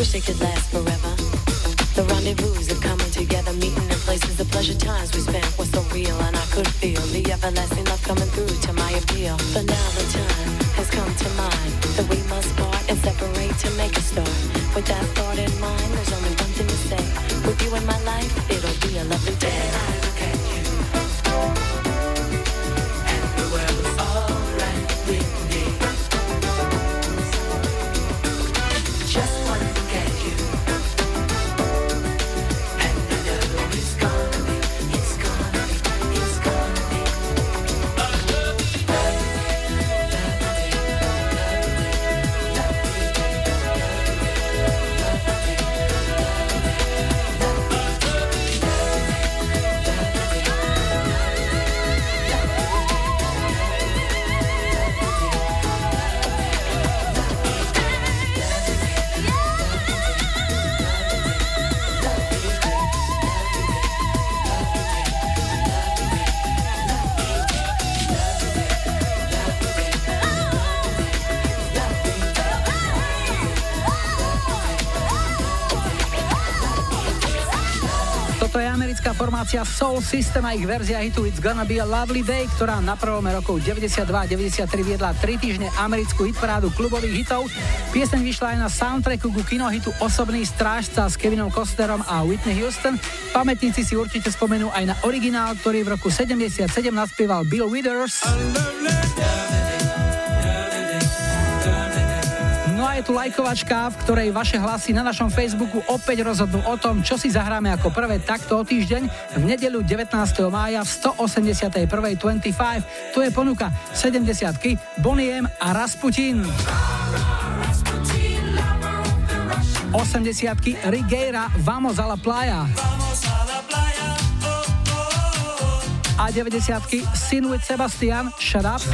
Wish they could last forever. The rendezvous of coming together, meeting in places, the pleasure times we spent were so real, and I could feel the everlasting love coming through to my appeal. But now the time has come to mind that we must part and separate to make a start. With that thought in mind, there's only one thing to say. With you in my life, it'll be a lovely day. I look at you, and the world's alright with me. Just wanna look at you. Toto je americká formácia Soul System a ich verzia hitu It's Gonna Be a Lovely Day, ktorá na prelome rokov deväťdesiatdva a deväťdesiattri viedla tri týždne americkú hitparádu klubových hitov. Pieseň vyšla aj na soundtracku ku kinohitu Osobný strážca s Kevinom Costnerom a Whitney Houston. Pamätníci si určite spomenú aj na originál, ktorý v roku sedemdesiatsedem naspieval Bill Withers. No a je tu lajkovačka, v ktorej vaše hlasy na našom Facebooku opäť rozhodnú o tom, čo si zahráme ako prvé takto o týždeň v nedeľu devätnásteho mája v stoosemdesiatjeden. dvadsaťpäť. To je ponuka sedemdesiatky Bonnie M a Rasputin. osemdesiatky Rigera Vamos a la playa. A deväťdesiatky Sin with Sebastian Shut Up.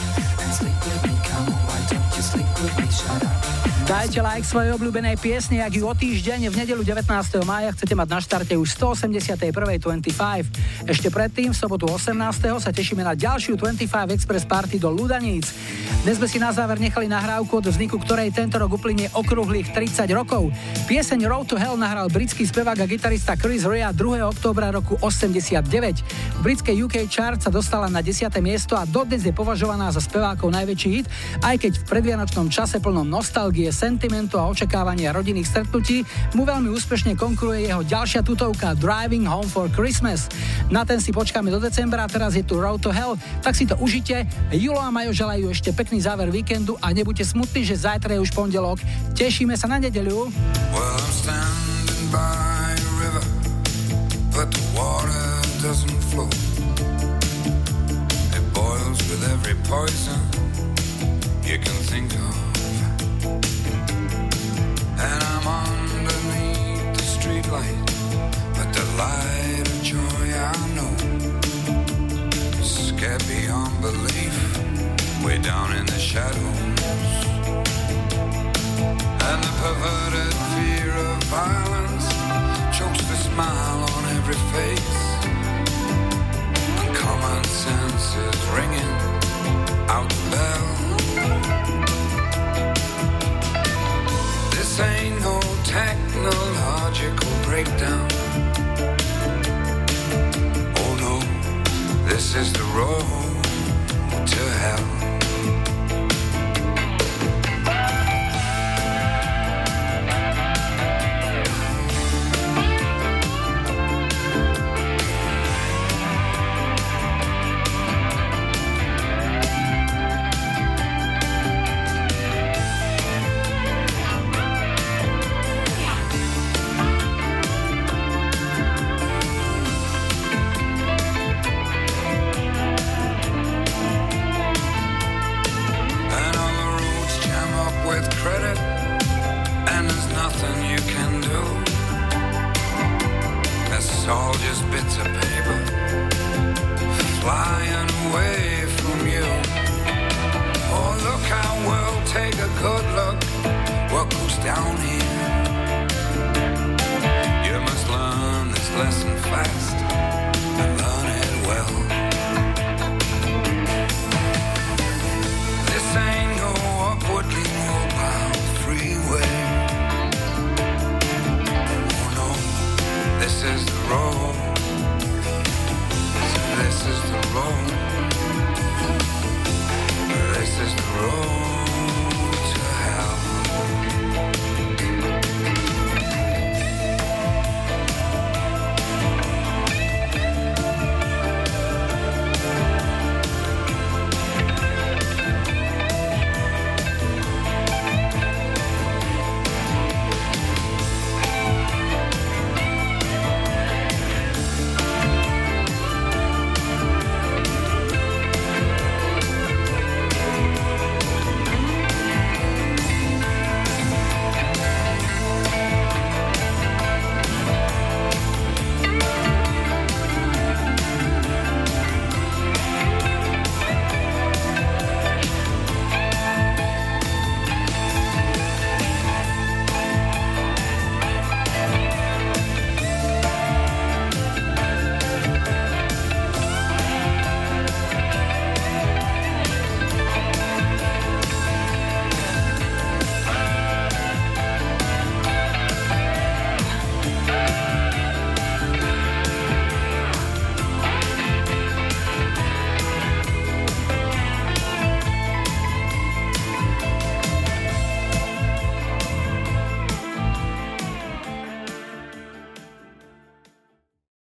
Dajte like svojej obľúbenej piesne, ak ju o týždeň v nedeľu devätnásteho mája chcete mať na štarte už stoosemdesiatjeden. dvadsaťpäť. Ešte predtým, v sobotu osemnásteho sa tešíme na ďalšiu dvadsaťpäť Express Party do Ludaníc. Dnes sme si na záver nechali nahrávku, od vzniku ktorej tento rok uplynie okrúhlych tridsať rokov. Pieseň Road to Hell nahral britský spevák a gitarista Chris Rea druhého októbra roku osemdesiatdeväť. V britskej ú ká chart sa dostala na desiate miesto a dodnes je považovaná za spevákov najväčší hit, aj keď v predvianočnom čase plnom nostalgie, sentimentu a očakávania rodinných stretnutí mu veľmi úspešne konkuruje jeho ďalšia tutovka Driving Home for Christmas. Na ten si počkáme do decembra, teraz je tu Road to Hell, tak si to užite. Julo a Majo želajú ešte pekný záver víkendu a nebuďte smutní, že zajtra je už pondelok. Tešíme sa na nedeľu. Well, I'm standing by a river, but the water doesn't flow. It boils with every poison you can think of. And I'm underneath the street light, but the light of joy I know is scared beyond belief, way down in the shadows. And the perverted fear of violence chokes the smile on every face, and common sense is ringing out the bell. This ain't no technological breakdown. Oh no, this is the road to hell. Good luck.